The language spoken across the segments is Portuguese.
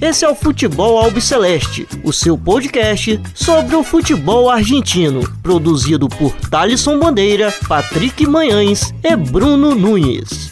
Esse é o Futebol Albiceleste, o seu podcast sobre o futebol argentino, produzido por Thalisson Bandeira, Patrick Manhães e Bruno Nunes.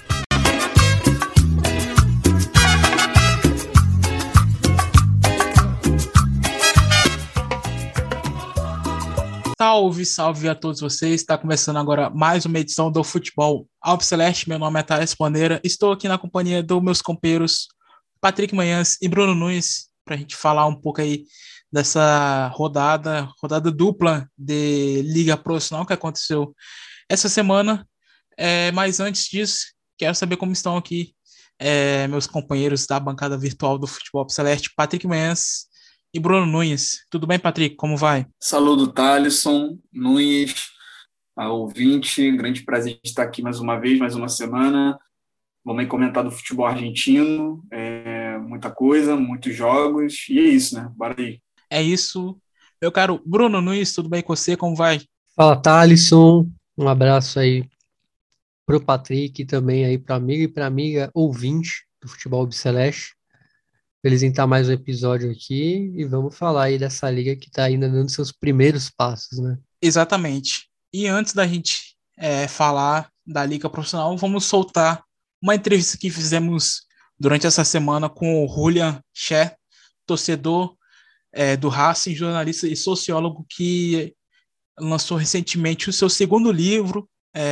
Salve, salve a todos vocês. Está começando agora mais uma edição do Futebol Albiceleste. Meu nome é Thalisson Bandeira. Estou aqui na companhia dos meus companheiros Patrick Manhães e Bruno Nunes para a gente falar um pouco aí dessa rodada dupla de Liga Profissional que aconteceu essa semana. Mas antes disso, quero saber como estão aqui meus companheiros da bancada virtual do Futebol Albiceleste, Patrick Manhães e Bruno Nunes. Tudo bem, Patrick? Como vai? Saludo, Thalisson, Nunes, a ouvinte. Grande prazer de estar aqui mais uma vez, mais uma semana. Vamos aí comentar do futebol argentino. Muita coisa, muitos jogos. E é isso, né? Bora aí. É isso. Meu caro Bruno Nunes, tudo bem com você? Como vai? Fala, Thalisson. Um abraço aí pro Patrick e também aí pro amigo e pra amiga ouvinte do Futebol Albiceleste. Feliz em estar mais um episódio aqui e vamos falar aí dessa liga que está ainda dando seus primeiros passos, né? Exatamente. E antes da gente falar da liga profissional, vamos soltar uma entrevista que fizemos durante essa semana com o Julian Scher, torcedor do Racing, jornalista e sociólogo que lançou recentemente o seu segundo livro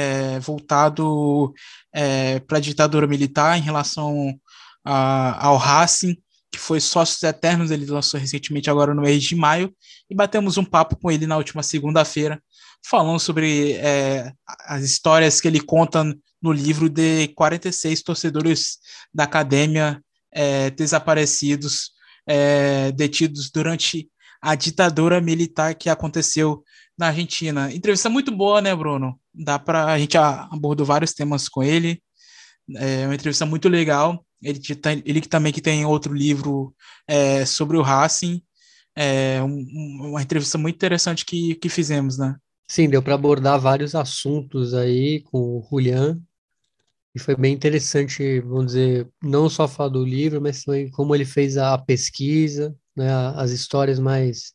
voltado para a ditadura militar em relação ao Racing, que foi Sócios Eternos. Ele lançou recentemente agora no mês de maio, e batemos um papo com ele na última segunda-feira, falando sobre as histórias que ele conta no livro de 46 torcedores da academia desaparecidos, detidos durante a ditadura militar que aconteceu na Argentina. Entrevista muito boa, né, Bruno? A gente abordou vários temas com ele. É uma entrevista muito legal. Ele também que tem outro livro sobre o Racing. Uma entrevista muito interessante que fizemos, né? Sim, deu para abordar vários assuntos aí com o Julian, e foi bem interessante, vamos dizer, não só falar do livro, mas também como ele fez a pesquisa, né, as histórias mais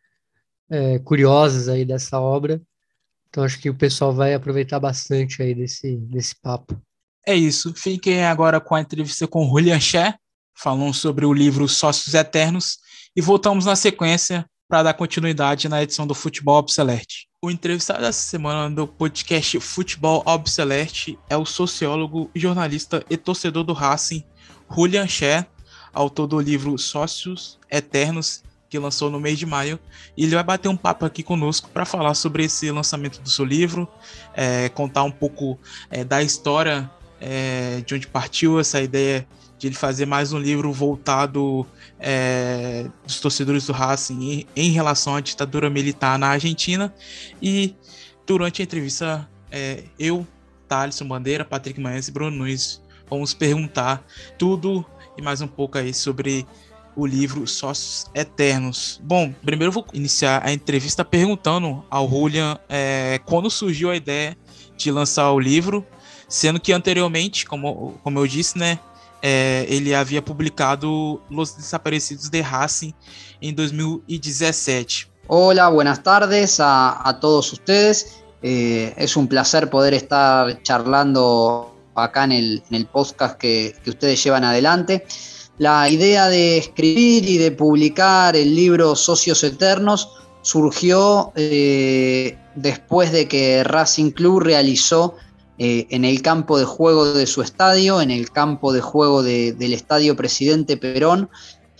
curiosas aí dessa obra. Então acho que o pessoal vai aproveitar bastante aí desse papo. É isso. Fiquem agora com a entrevista com o Julian Scher, falando sobre o livro Sócios Eternos, e voltamos na sequência para dar continuidade na edição do Futebol Albiceleste. O entrevistado dessa semana do podcast Futebol Albiceleste é o sociólogo, jornalista e torcedor do Racing, Julian Scher, autor do livro Sócios Eternos, que lançou no mês de maio, e ele vai bater um papo aqui conosco para falar sobre esse lançamento do seu livro, contar um pouco da história de onde partiu essa ideia de ele fazer mais um livro voltado dos torcedores do Racing em relação à ditadura militar na Argentina. E durante a entrevista, eu, Thalisson Bandeira, Patrick Manhães e Bruno Nunes vamos perguntar tudo e mais um pouco aí sobre o livro Sócios Eternos. Bom, primeiro eu vou iniciar a entrevista perguntando ao Julian quando surgiu a ideia de lançar o livro, sendo que anteriormente, como eu disse, né, ele havia publicado Los Desaparecidos de Racing em 2017. Hola, buenas tardes a todos ustedes. Es un placer poder estar charlando acá en el podcast que ustedes llevan adelante. La idea de escribir y de publicar el libro Socios Eternos surgió después de que Racing Club realizó en el campo de juego de su estadio, en el campo de juego del Estadio Presidente Perón,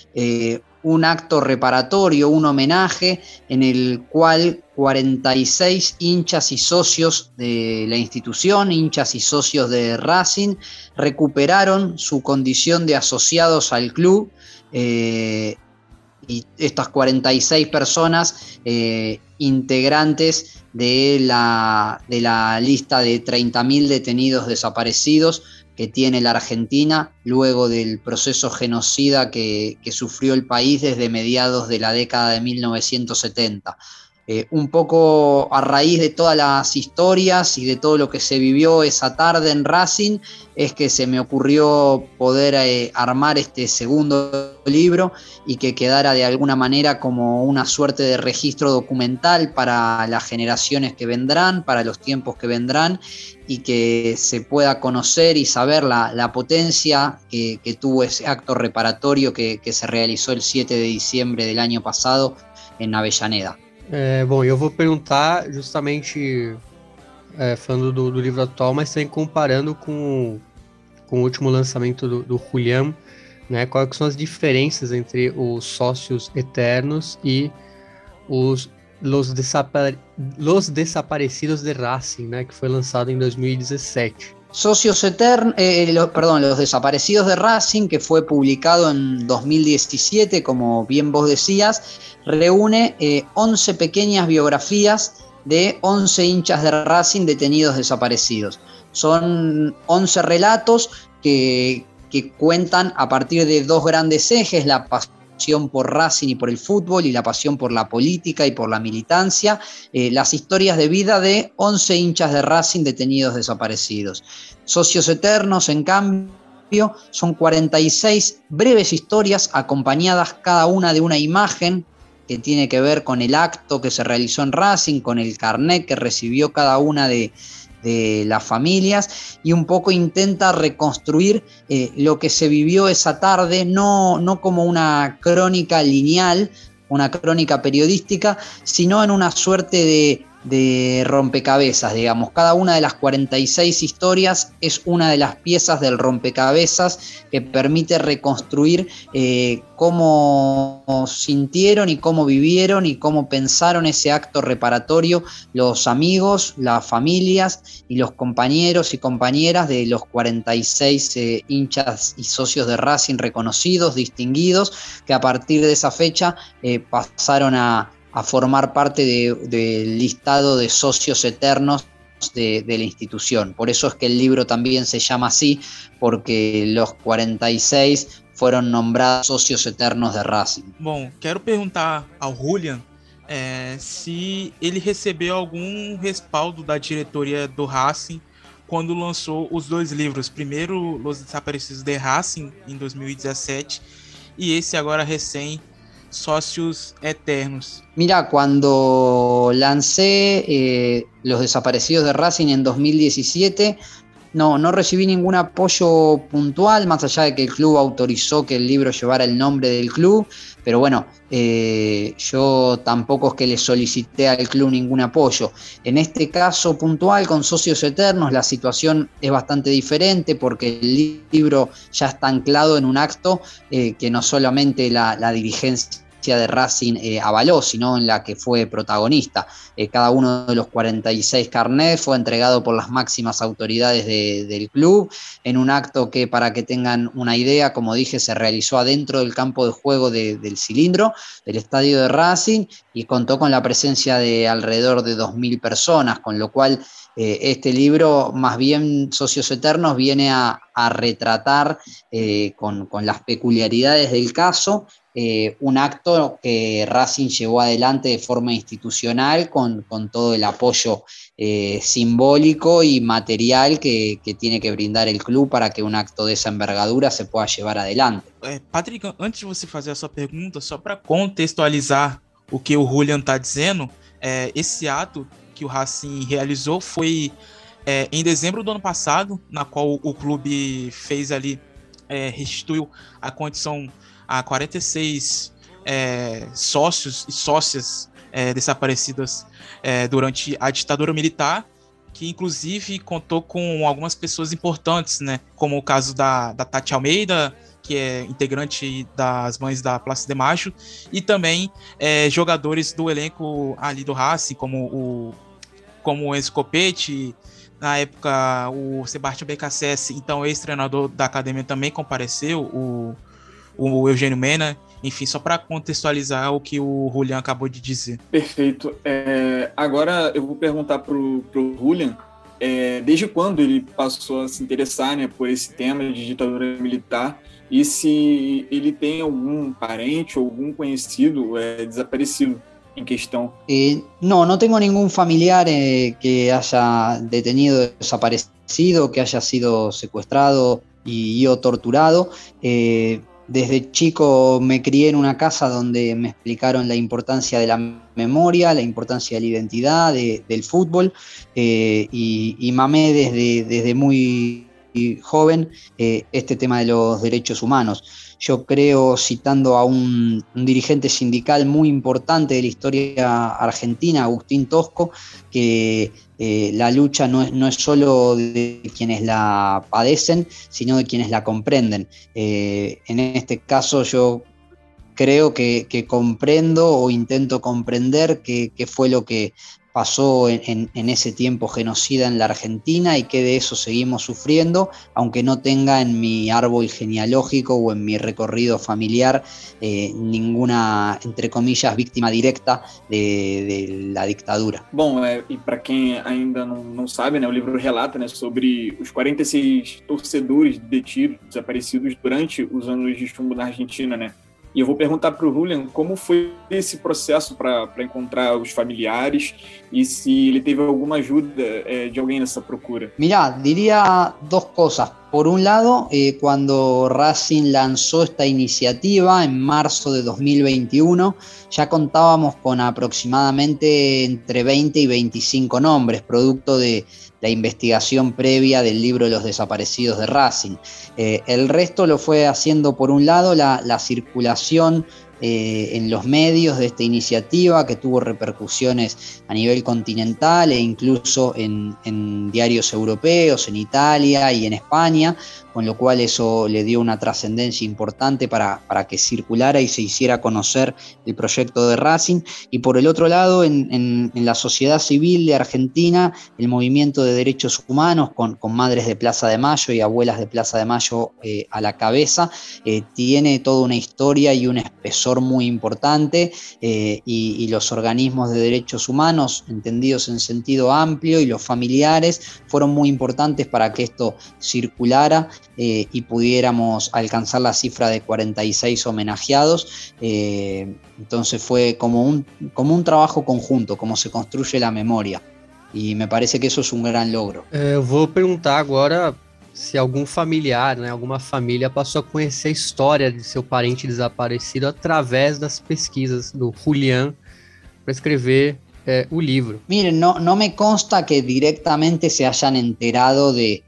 un acto reparatorio, un homenaje en el cual 46 hinchas y socios de la institución, hinchas y socios de Racing, recuperaron su condición de asociados al club, y estas 46 personas integrantes de la lista de 30.000 detenidos desaparecidos que tiene la Argentina luego del proceso genocida que sufrió el país desde mediados de la década de 1970. Un poco a raíz de todas las historias y de todo lo que se vivió esa tarde en Racing, es que se me ocurrió poder armar este segundo libro y que quedara de alguna manera como una suerte de registro documental para las generaciones que vendrán, para los tiempos que vendrán, y que se pueda conocer y saber la potencia que tuvo ese acto reparatorio que se realizó el 7 de diciembre del año pasado en Avellaneda. Bom, eu vou perguntar justamente falando do livro atual, mas também comparando com o último lançamento do Julián, né? Quais são as diferenças entre os Sócios Eternos e Los Desaparecidos de Racing, né? Que foi lançado em 2017. Socios Eternos, Los Desaparecidos de Racing, que fue publicado en 2017, como bien vos decías, reúne 11 pequeñas biografías de 11 hinchas de Racing detenidos desaparecidos. Son 11 relatos que cuentan a partir de dos grandes ejes: la pasión por Racing y por el fútbol, y la pasión por la política y por la militancia, las historias de vida de 11 hinchas de Racing detenidos desaparecidos. Socios Eternos, en cambio, son 46 breves historias acompañadas cada una de una imagen que tiene que ver con el acto que se realizó en Racing, con el carnet que recibió cada una de las familias, y un poco intenta reconstruir lo que se vivió esa tarde, no como una crónica lineal, una crónica periodística, sino en una suerte de rompecabezas, digamos. Cada una de las 46 historias es una de las piezas del rompecabezas que permite reconstruir cómo sintieron y cómo vivieron y cómo pensaron ese acto reparatorio los amigos, las familias y los compañeros y compañeras de los 46 hinchas y socios de Racing reconocidos, distinguidos, que a partir de esa fecha pasaron a formar parte del listado de socios eternos de la institución. Por eso es que el libro también se llama así, porque los 46 fueron nombrados socios eternos de Racing. Bom, quero perguntar ao Julián se ele recebeu algum respaldo da diretoria do Racing quando lançou os dois livros. Primeiro, Los Desaparecidos de Racing, em 2017, e esse agora recém, Socios Eternos. Mira, cuando lancé Los Desaparecidos de Racing en 2017, no recibí ningún apoyo puntual, más allá de que el club autorizó que el libro llevara el nombre del club, pero bueno, yo tampoco es que le solicité al club ningún apoyo. En este caso puntual, con Socios Eternos, la situación es bastante diferente, porque el libro ya está anclado en un acto que no solamente la dirigencia de Racing avaló, sino en la que fue protagonista. Cada uno de los 46 carnets fue entregado por las máximas autoridades del club, en un acto que, para que tengan una idea, como dije, se realizó adentro del campo de juego del Cilindro, del estadio de Racing, y contó con la presencia de alrededor de 2.000 personas, con lo cual este libro, más bien Socios Eternos, viene a retratar con las peculiaridades del caso un acto que Racing llevó adelante de forma institucional con todo el apoyo simbólico y material que tiene que brindar el club para que un acto de esa envergadura se pueda llevar adelante. Patrick, antes de você fazer a sua pergunta, só para contextualizar o que o Julián está dizendo, esse ato que o Racing realizou foi em dezembro do ano passado, na qual o clube fez ali, restituiu a condição a 46 sócios e sócias desaparecidas durante a ditadura militar, que inclusive contou com algumas pessoas importantes, né, como o caso da Tati Almeida, que é integrante das Mães da Praça de Maio, e também jogadores do elenco ali do Racing, como o Enzo Copete, na época o Sebastião BKSS, então ex-treinador da academia, também compareceu, o Eugênio Mena, enfim, só para contextualizar o que o Julián acabou de dizer. Perfeito. Agora eu vou perguntar para o Julián, desde quando ele passou a se interessar, né, por esse tema de ditadura militar, e se ele tem algum parente ou algum conhecido desaparecido em questão? No tengo ningún familiar que haya detenido, desaparecido, que haya sido secuestrado o torturado. Desde chico me crié en una casa donde me explicaron la importancia de la memoria, la importancia de la identidad, del fútbol, y mamé desde muy joven este tema de los derechos humanos. Yo creo, citando a un dirigente sindical muy importante de la historia argentina, Agustín Tosco, que la lucha no es solo de quienes la padecen, sino de quienes la comprenden. En este caso yo creo que comprendo o intento comprender qué fue lo que pasó en ese tiempo genocida en la Argentina y que de eso seguimos sufriendo, aunque no tenga en mi árbol genealógico o en mi recorrido familiar ninguna, entre comillas, víctima directa de la dictadura. Bom, e para quem ainda não sabe, né, o livro relata, né, sobre os 46 torcedores detidos, desaparecidos durante os anos de chumbo na Argentina, né? E eu vou perguntar para o Julian como foi esse processo para encontrar os familiares y si ele teve alguna ayuda de alguien en esa procura. Mirá, diría dos cosas. Por un lado, cuando Racing lanzó esta iniciativa en marzo de 2021, ya contábamos con aproximadamente entre 20 y 25 nombres, producto de la investigación previa del libro de los desaparecidos de Racing. El resto lo fue haciendo, por un lado, la circulación en los medios de esta iniciativa, que tuvo repercusiones a nivel continental e incluso en diarios europeos, en Italia y en España, con lo cual eso le dio una trascendencia importante para que circulara y se hiciera conocer el proyecto de Racing. Y por el otro lado, en la sociedad civil de Argentina, el movimiento de derechos humanos, con madres de Plaza de Mayo y abuelas de Plaza de Mayo a la cabeza, tiene toda una historia y un espesor muy importante, y los organismos de derechos humanos, entendidos en sentido amplio, y los familiares fueron muy importantes para que esto circulara y pudiéramos alcanzar la cifra de 46 homenajeados. Entonces fue como un trabajo conjunto, como se construye la memoria, y me parece que eso es un gran logro. Vou perguntar agora se algum familiar, né, alguma família passou a conhecer a história de seu parente desaparecido através das pesquisas do Julián para escrever o livro. Miren, no me consta que directamente se hayan enterado de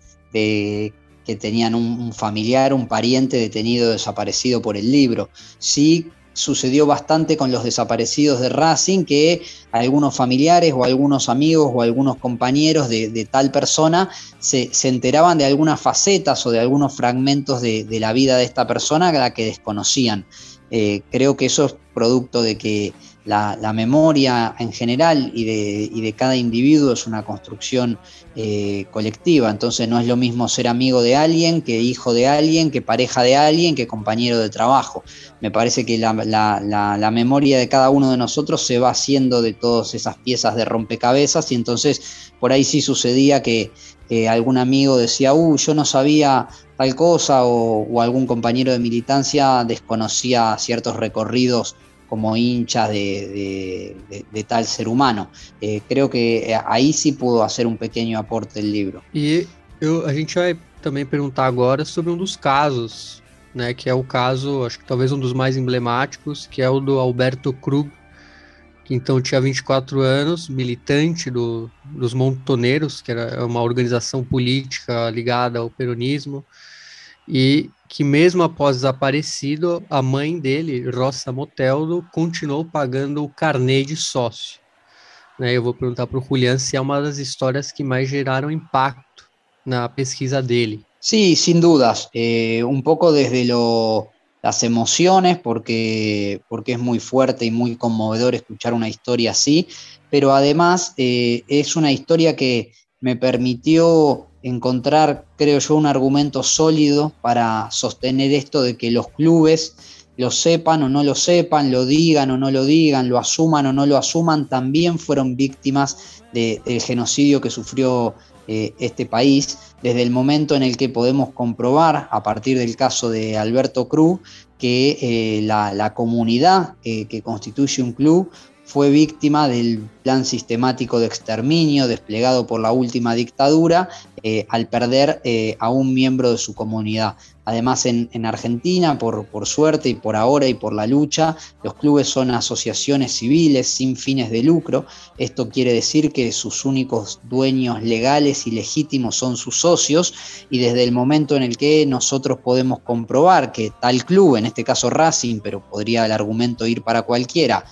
que tenían un familiar, un pariente detenido o desaparecido por el libro. Sí sucedió bastante con los desaparecidos de Racing, que algunos familiares o algunos amigos o algunos compañeros de tal persona se enteraban de algunas facetas o de algunos fragmentos de la vida de esta persona a la que desconocían. Creo que eso es producto de que la memoria en general y de cada individuo es una construcción colectiva. Entonces no es lo mismo ser amigo de alguien, que hijo de alguien, que pareja de alguien, que compañero de trabajo. Me parece que la memoria de cada uno de nosotros se va haciendo de todas esas piezas de rompecabezas, y entonces por ahí sí sucedía que algún amigo decía, yo no sabía tal cosa, o algún compañero de militancia desconocía ciertos recorridos como hinchas de tal ser humano. Creo que aí sí pudo hacer um pequeno aporte do livro. E a gente vai também perguntar agora sobre um dos casos, né, que é o caso, acho que talvez um dos mais emblemáticos, que é o do Alberto Krug, que então tinha 24 anos, militante dos Montoneiros, que era uma organização política ligada ao peronismo, e que mesmo após desaparecido, a mãe dele, Rosa Moteldo, continuou pagando o carnê de sócio. Né, eu vou perguntar para o Julián se é uma das histórias que mais geraram impacto na pesquisa dele. Sí, sin dudas. Un poco desde las emociones, porque es muy fuerte y muy conmovedor escuchar una historia así, pero además es una historia que me permitió encontrar, creo yo, un argumento sólido para sostener esto de que los clubes, lo sepan o no lo sepan, lo digan o no lo digan, lo asuman o no lo asuman, también fueron víctimas del genocidio que sufrió este país, desde el momento en el que podemos comprobar, a partir del caso de Alberto Krug, que la comunidad que constituye un club fue víctima del plan sistemático de exterminio desplegado por la última dictadura al perder a un miembro de su comunidad. Además, en Argentina, por suerte y por ahora y por la lucha, los clubes son asociaciones civiles sin fines de lucro. Esto quiere decir que sus únicos dueños legales y legítimos son sus socios, y desde el momento en el que nosotros podemos comprobar que tal club, en este caso Racing, pero podría el argumento ir para cualquiera,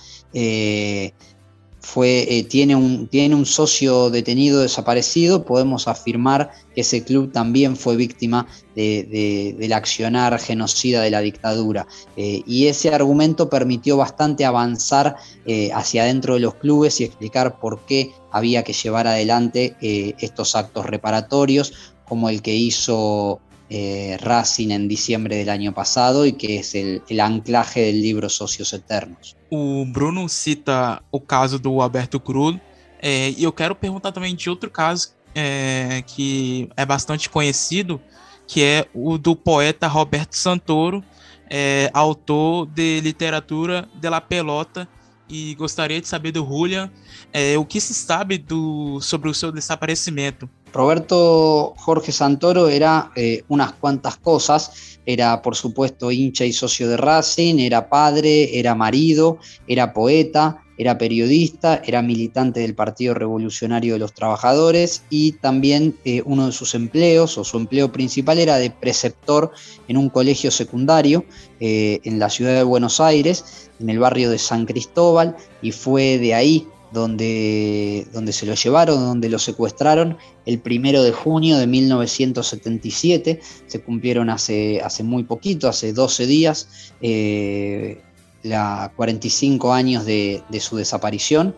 tiene un socio detenido desaparecido, podemos afirmar que ese club también fue víctima del accionar genocida de la dictadura. Y ese argumento permitió bastante avanzar hacia adentro de los clubes y explicar por qué había que llevar adelante estos actos reparatorios, como el que hizo Racing en diciembre del año pasado y que es el anclaje del libro Socios Eternos. O Bruno cita o caso do Alberto Cruz, e eu quero perguntar também de outro caso que é bastante conhecido, que é o do poeta Roberto Santoro, autor de literatura de La Pelota, e gostaria de saber do Julian o que se sabe sobre o seu desaparecimento. Roberto Jorge Santoro era unas cuantas cosas. Era, por supuesto, hincha y socio de Racing, era padre, era marido, era poeta, era periodista, era militante del Partido Revolucionario de los Trabajadores, y también uno de sus empleos, o su empleo principal, era de preceptor en un colegio secundario en la ciudad de Buenos Aires, en el barrio de San Cristóbal, y fue de ahí donde se lo llevaron, donde lo secuestraron el 1 de junio de 1977. Se cumplieron hace muy poquito, hace 12 días, 45 años de su desaparición.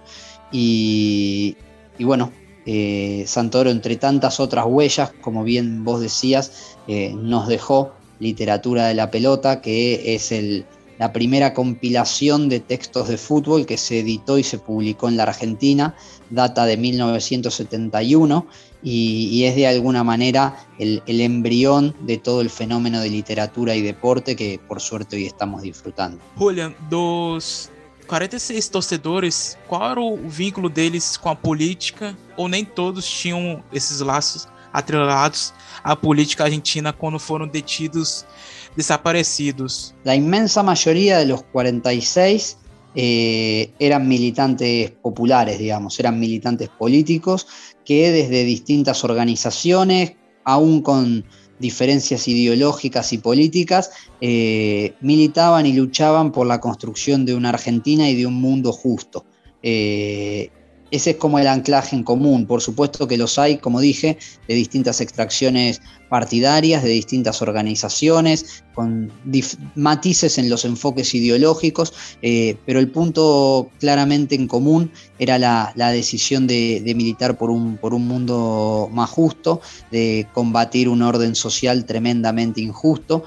Y bueno, Santoro, entre tantas otras huellas, como bien vos decías, nos dejó Literatura de la Pelota, que es la primera compilación de textos de fútbol que se editó y se publicó en la Argentina, data de 1971, y es de alguna manera el embrión de todo el fenómeno de literatura y deporte que por suerte hoy estamos disfrutando. Julian, dos 46 torcedores, qual era o vínculo deles com a política, ou nem todos tinham esses laços atrelados à política argentina quando foram detidos, desaparecidos? La inmensa mayoría de los 46 eran militantes populares, digamos, eran militantes políticos que desde distintas organizaciones, aún con diferencias ideológicas y políticas, militaban y luchaban por la construcción de una Argentina y de un mundo justo. Ese es como el anclaje en común. Por supuesto que los hay, como dije, de distintas extracciones partidarias, de distintas organizaciones, con matices en los enfoques ideológicos, pero el punto claramente en común era la decisión de militar por un mundo más justo, de combatir un orden social tremendamente injusto,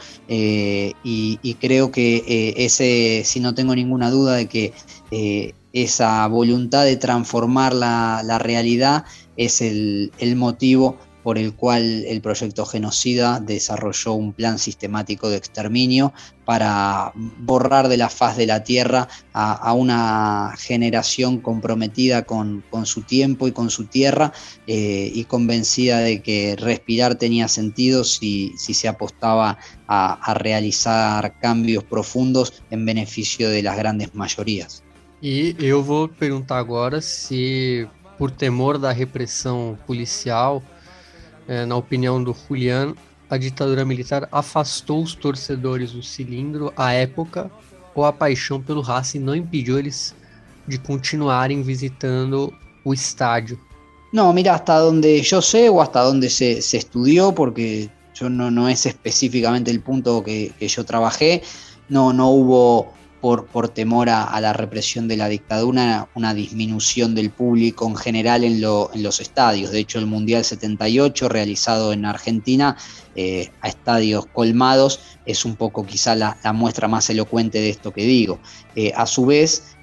y creo que si no tengo ninguna duda de que esa voluntad de transformar la realidad es el motivo por el cual el proyecto genocida desarrolló un plan sistemático de exterminio para borrar de la faz de la tierra a una generación comprometida con su tiempo y con su tierra, y convencida de que respirar tenía sentido si se apostaba a realizar cambios profundos en beneficio de las grandes mayorías. E eu vou perguntar agora se, por temor da repressão policial, na opinião do Julian, a ditadura militar afastou os torcedores do Cilindro à época, ou a paixão pelo Racing não impediu eles de continuarem visitando o estádio? No, mira, hasta donde yo sé o hasta donde se estudió, porque yo no es específicamente el punto que yo trabajé, no hubo por temor a la represión de la dictadura una disminución del público en general en los estadios. De hecho, el Mundial 78 realizado en Argentina a estadios colmados es un poco quizá la muestra más elocuente de esto que digo. A su vez,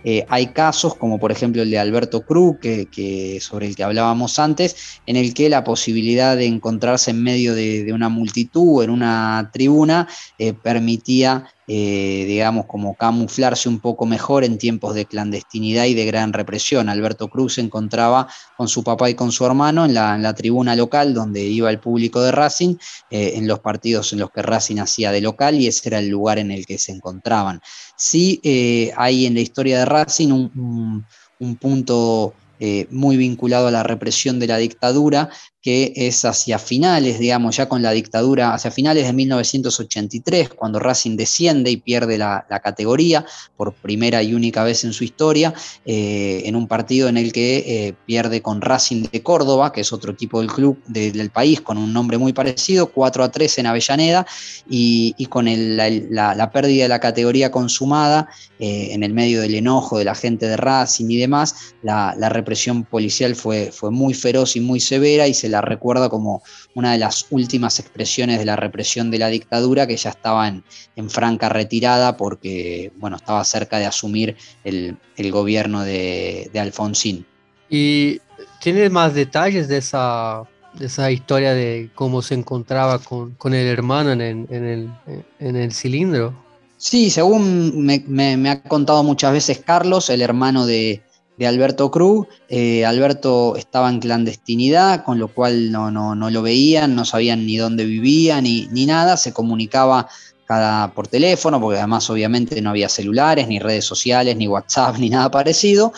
hay casos, como por ejemplo el de Alberto Cruz, sobre el que hablábamos antes, en el que la posibilidad de encontrarse en medio de una multitud, en una tribuna, permitía, digamos, como camuflarse un poco mejor en tiempos de clandestinidad y de gran represión. Alberto Cruz se encontraba con su papá y con su hermano en la tribuna local donde iba el público de Racing, en los partidos en los que Racing hacía de local, y ese era el lugar en el que se encontraban. Sí, hay en la historia de Racing un punto muy vinculado a la represión de la dictadura, que es hacia finales, digamos, ya con la dictadura, hacia finales de 1983, cuando Racing desciende y pierde la categoría por primera y única vez en su historia, en un partido en el que pierde con Racing de Córdoba, que es otro equipo del club del país, con un nombre muy parecido, 4-3 en Avellaneda, y con la pérdida de la categoría consumada, en el medio del enojo de la gente de Racing y demás, la represión policial fue muy feroz y muy severa, y se la recuerda como una de las últimas expresiones de la represión de la dictadura, que ya estaba en franca retirada porque, bueno, estaba cerca de asumir el gobierno de Alfonsín. ¿Y tienes más detalles de esa historia de cómo se encontraba con el hermano en el cilindro? Sí, según me ha contado muchas veces Carlos, el hermano de Alberto Cruz, Alberto estaba en clandestinidad, con lo cual no lo veían, no sabían ni dónde vivía ni nada, se comunicaba por teléfono, porque además obviamente no había celulares, ni redes sociales, ni WhatsApp, ni nada parecido,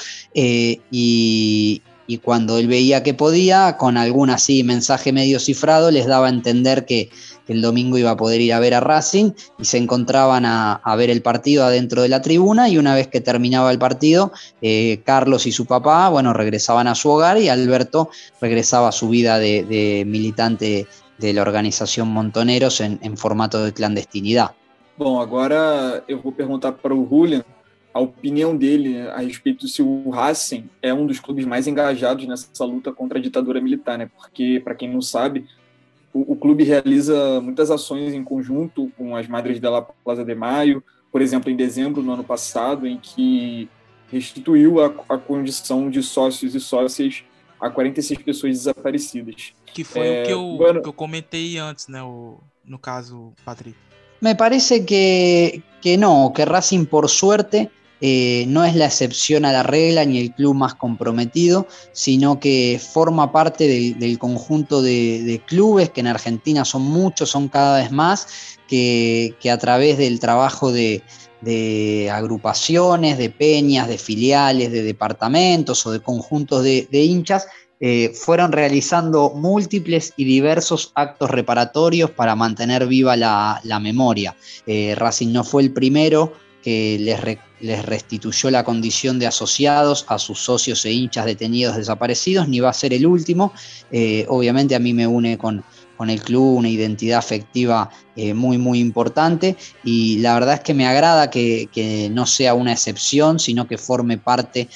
y cuando él veía que podía, con algún así mensaje medio cifrado, les daba a entender que el domingo iba a poder ir a ver a Racing, y se encontraban a ver el partido adentro de la tribuna, y una vez que terminaba el partido, Carlos y su papá, bueno, regresaban a su hogar, y Alberto regresaba a su vida de militante de la organización Montoneros en formato de clandestinidad. Bom, agora eu vou perguntar para o Julian a opinião dele a respeito se o Racing é dos clubes mais engajados nessa luta contra a ditadura militar, né? Porque, para quem não sabe, o clube realiza muitas ações em conjunto com as Madres de la Plaza de Mayo, por exemplo, em dezembro do ano passado, em que restituiu a condição de sócios e sócias a 46 pessoas desaparecidas. Que foi o que eu comentei antes, né? No caso, Patrick. Me parece que no, que Racing, por suerte, no es la excepción a la regla ni el club más comprometido, sino que forma parte del conjunto de clubes que en Argentina son muchos, son cada vez más, que a través del trabajo de agrupaciones, de peñas, de filiales, de departamentos o de conjuntos de hinchas, fueron realizando múltiples y diversos actos reparatorios para mantener viva la memoria. Racing no fue el primero que les restituyó la condición de asociados a sus socios e hinchas detenidos desaparecidos, ni va a ser el último. Obviamente a mí me une con el club una identidad afectiva muy, muy importante, y la verdad es que me agrada que no sea una excepción, sino que forme parte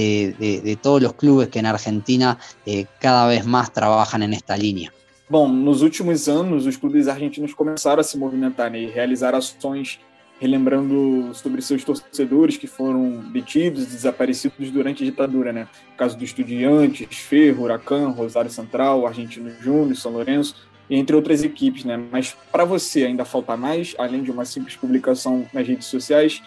de todos los clubes que en Argentina cada vez más trabajan en esta línea. Bom, nos últimos anos, os clubes argentinos começaram a se movimentar, né, e realizar ações relembrando sobre seus torcedores que foram detidos e desaparecidos durante a ditadura, né? No caso do Estudiantes, Ferro, Huracan, Rosário Central, Argentino Júnior, São Lourenço, entre outras equipes, né? Mas para você ainda falta mais, além de uma simples publicação nas redes sociais?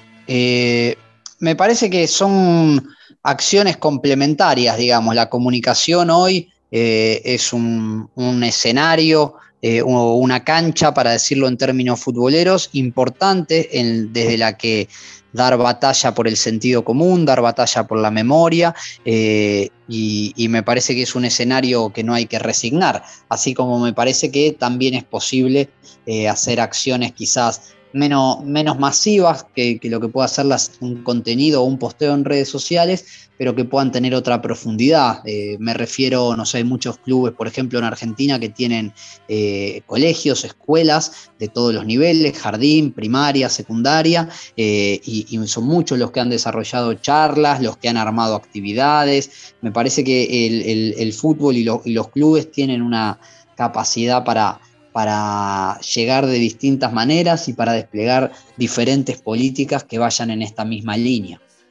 Me parece que son acciones complementarias, digamos. La comunicación hoy es un escenario o una cancha, para decirlo en términos futboleros, importante, desde la que dar batalla por el sentido común, dar batalla por la memoria, y me parece que es un escenario que no hay que resignar, así como me parece que también es posible hacer acciones quizás menos masivas que lo que pueda hacer un contenido o un posteo en redes sociales, pero que puedan tener otra profundidad. Me refiero, no sé, hay muchos clubes, por ejemplo, en Argentina, que tienen colegios, escuelas de todos los niveles, jardín, primaria, secundaria, y son muchos los que han desarrollado charlas, los que han armado actividades. Me parece que el fútbol y los clubes tienen una capacidad para llegar de distintas maneras y para desplegar diferentes políticas que vayan en esta misma línea.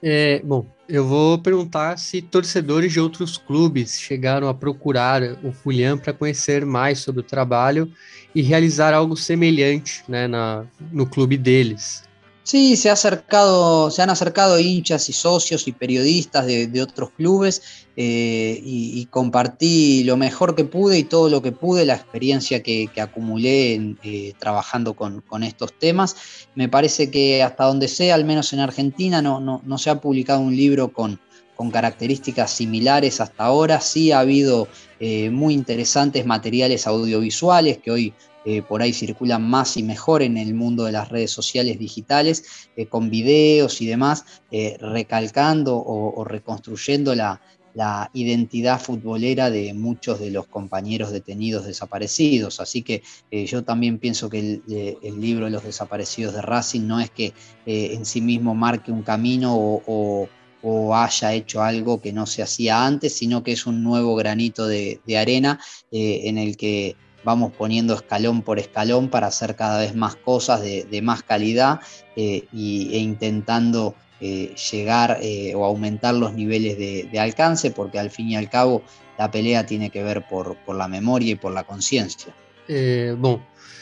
Bom, eu vou perguntar se torcedores de outros clubes chegaram a procurar o Julián para conhecer mais sobre o trabalho e realizar algo semelhante, né, no clube deles. Sí, se han acercado hinchas y socios y periodistas de otros clubes y compartí lo mejor que pude y todo lo que pude, la experiencia que acumulé trabajando con estos temas. Me parece que hasta donde sea, al menos en Argentina, no se ha publicado un libro con características similares hasta ahora. Sí ha habido muy interesantes materiales audiovisuales que hoy por ahí circulan más y mejor en el mundo de las redes sociales digitales, con videos y demás, recalcando o reconstruyendo la identidad futbolera de muchos de los compañeros detenidos desaparecidos. Así que yo también pienso que el libro de los desaparecidos de Racing no es que en sí mismo marque un camino o haya hecho algo que no se hacía antes, sino que es un nuevo granito de arena en el que vamos poniendo escalón por escalón para hacer cada vez más cosas de más calidad e intentando llegar o aumentar los niveles de alcance, porque al fin y al cabo la pelea tiene que ver por la memoria y por la conciencia. Bom,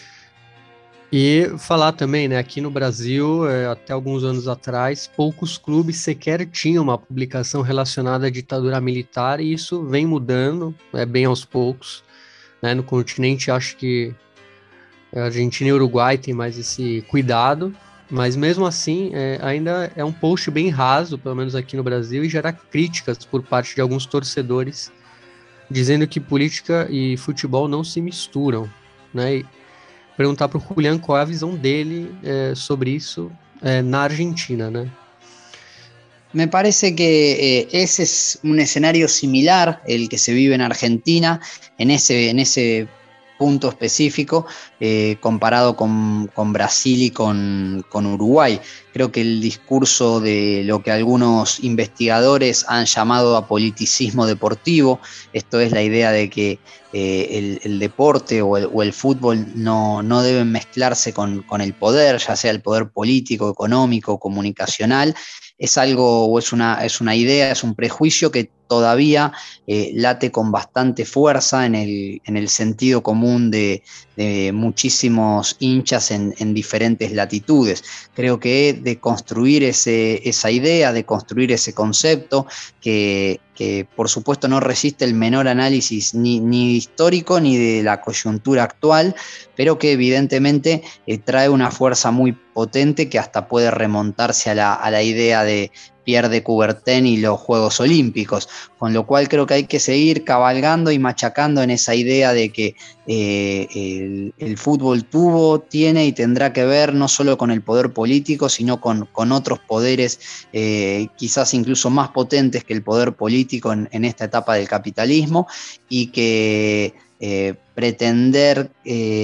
e falar também, né, aqui no Brasil, até alguns anos atrás, poucos clubes sequer tinham uma publicação relacionada à ditadura militar, e isso vem mudando, bem aos poucos. Né, no continente, acho que a Argentina e o Uruguai têm mais esse cuidado, mas mesmo assim, ainda é um post bem raso, pelo menos aqui no Brasil, e gera críticas por parte de alguns torcedores, dizendo que política e futebol não se misturam, né? E perguntar para o Julián qual é a visão dele sobre isso na Argentina, né? Me parece que ese es un escenario similar, el que se vive en Argentina, en ese punto específico, comparado con Brasil y con Uruguay. Creo que el discurso de lo que algunos investigadores han llamado apoliticismo deportivo, esto es la idea de que el deporte o el fútbol no deben mezclarse con el poder, ya sea el poder político, económico, comunicacional, es algo o es una idea, es un prejuicio que todavía late con bastante fuerza en el sentido común de muchísimos hinchas en diferentes latitudes. Creo que de construir esa idea, de construir ese concepto que por supuesto no resiste el menor análisis ni histórico ni de la coyuntura actual, pero que evidentemente trae una fuerza muy potente que hasta puede remontarse a la idea de Pierre de Coubertin y los Juegos Olímpicos, con lo cual creo que hay que seguir cabalgando y machacando en esa idea de que el fútbol tiene y tendrá que ver no solo con el poder político, sino con otros poderes quizás incluso más potentes que el poder político en esta etapa del capitalismo, y que pretender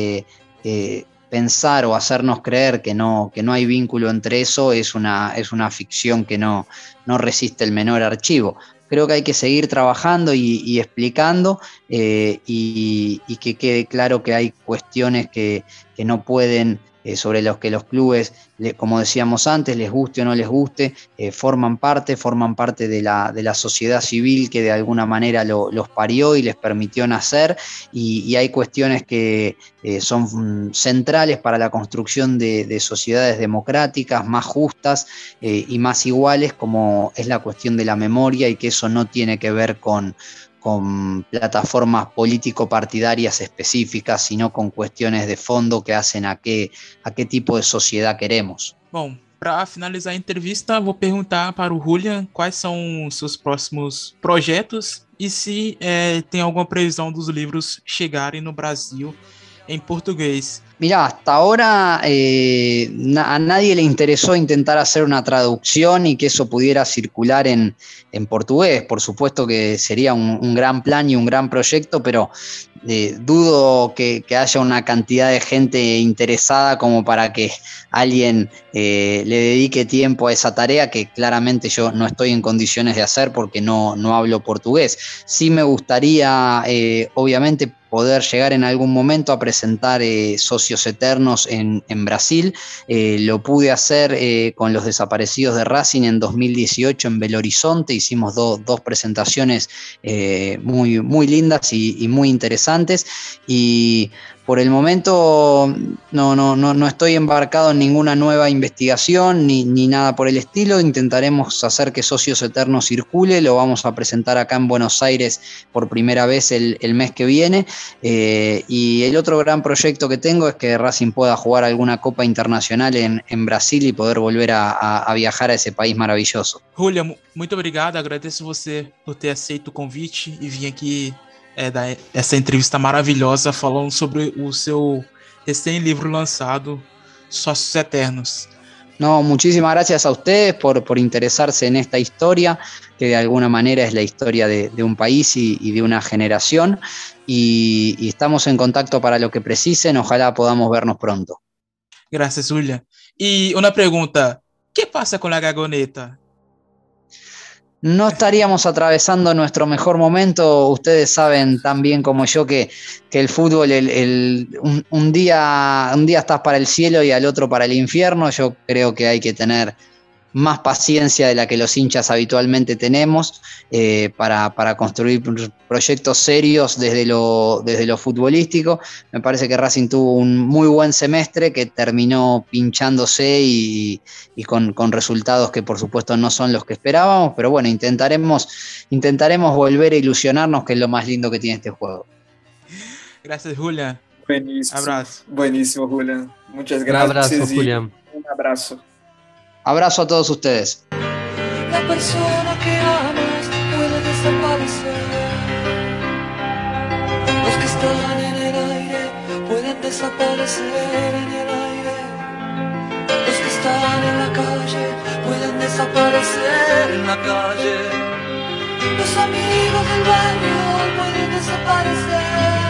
pensar o hacernos creer que no hay vínculo entre eso es una ficción que no resiste el menor archivo. Creo que hay que seguir trabajando y explicando y que quede claro que hay cuestiones que no pueden, sobre los que los clubes, como decíamos antes, les guste o no les guste, forman parte de la sociedad civil que de alguna manera los parió y les permitió nacer, y hay cuestiones que son centrales para la construcción de sociedades democráticas más justas y más iguales, como es la cuestión de la memoria, y que eso no tiene que ver con plataformas político-partidarias específicas, sino con cuestiones de fondo que hacen a qué tipo de sociedad queremos. Bom, para finalizar a entrevista, vou perguntar para o Julián quais são os seus próximos projetos e se tem alguma previsão dos livros chegarem no Brasil en portugués. Mirá, hasta ahora a nadie le interesó intentar hacer una traducción y que eso pudiera circular en portugués. Por supuesto que sería un gran plan y un gran proyecto, pero dudo que haya una cantidad de gente interesada como para que alguien le dedique tiempo a esa tarea, que claramente yo no estoy en condiciones de hacer porque no hablo portugués. Sí me gustaría, obviamente, poder llegar en algún momento a presentar Socios Eternos en Brasil. Lo pude hacer con los desaparecidos de Racing en 2018 en Belo Horizonte. Hicimos dos presentaciones muy, muy lindas y muy interesantes. Y por el momento no estoy embarcado en ninguna nueva investigación ni nada por el estilo. Intentaremos hacer que Socios Eternos circule. Lo vamos a presentar acá en Buenos Aires por primera vez el mes que viene. Y el otro gran proyecto que tengo es que Racing pueda jugar alguna Copa Internacional en Brasil y poder volver a viajar a ese país maravilloso. Julia, muito obrigado. Agradeço você por ter aceito o convite e vir aqui dar essa entrevista maravilhosa falando sobre o seu recém-livro lançado, Sócios Eternos. No, muchísimas gracias a ustedes por interesarse en esta historia, que de alguna manera es la historia de un país y de una generación, y estamos en contacto para lo que precisen. Ojalá podamos vernos pronto. Gracias, Julia. Y una pregunta, ¿qué pasa con la Gagoneta? No estaríamos atravesando nuestro mejor momento. Ustedes saben tan bien como yo que el fútbol un día estás para el cielo y al otro para el infierno. Yo creo que hay que tener más paciencia de la que los hinchas habitualmente tenemos para construir proyectos serios desde lo futbolístico. Me parece que Racing tuvo un muy buen semestre que terminó pinchándose y con resultados que por supuesto no son los que esperábamos, pero bueno, intentaremos volver a ilusionarnos, que es lo más lindo que tiene este juego. Gracias, Julia. Buenísimo. Abrazo. Buenísimo, Julián. Muchas Un gracias. abrazo, Julián. Un abrazo. Abrazo a todos ustedes. La persona que amas puede desaparecer. Los que están en el aire pueden desaparecer en el aire. Los que están en la calle pueden desaparecer en la calle. Los amigos del barrio pueden desaparecer,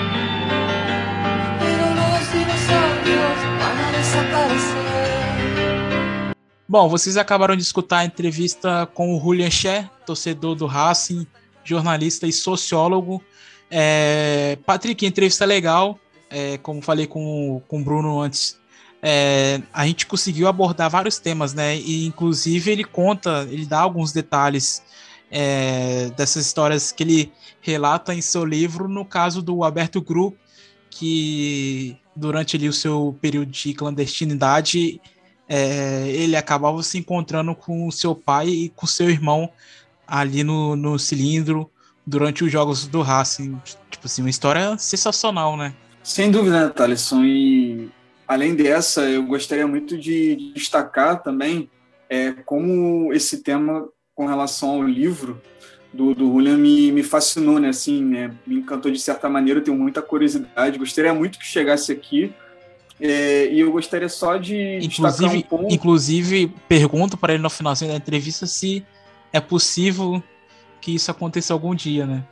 pero los dinosaurios van a desaparecer. Bom, vocês acabaram de escutar a entrevista com o Julian Ché, torcedor do Racing, jornalista e sociólogo. Patrick, entrevista legal. Como falei com o Bruno antes, a gente conseguiu abordar vários temas, né? E inclusive ele dá alguns detalhes dessas histórias que ele relata em seu livro, no caso do Alberto Gru, que durante ali o seu período de clandestinidade ele acabava se encontrando com o seu pai e com seu irmão ali no cilindro durante os jogos do Racing. Tipo assim, uma história sensacional, né? Sem dúvida, né, Thalisson? E além dessa, eu gostaria muito de destacar também como esse tema com relação ao livro do Julian me fascinou, né? Assim, me encantou de certa maneira, eu tenho muita curiosidade, gostaria muito que chegasse aqui. E eu gostaria só de destacar um ponto. Inclusive, pergunto para ele no finalzinho da entrevista se é possível que isso aconteça algum dia, né?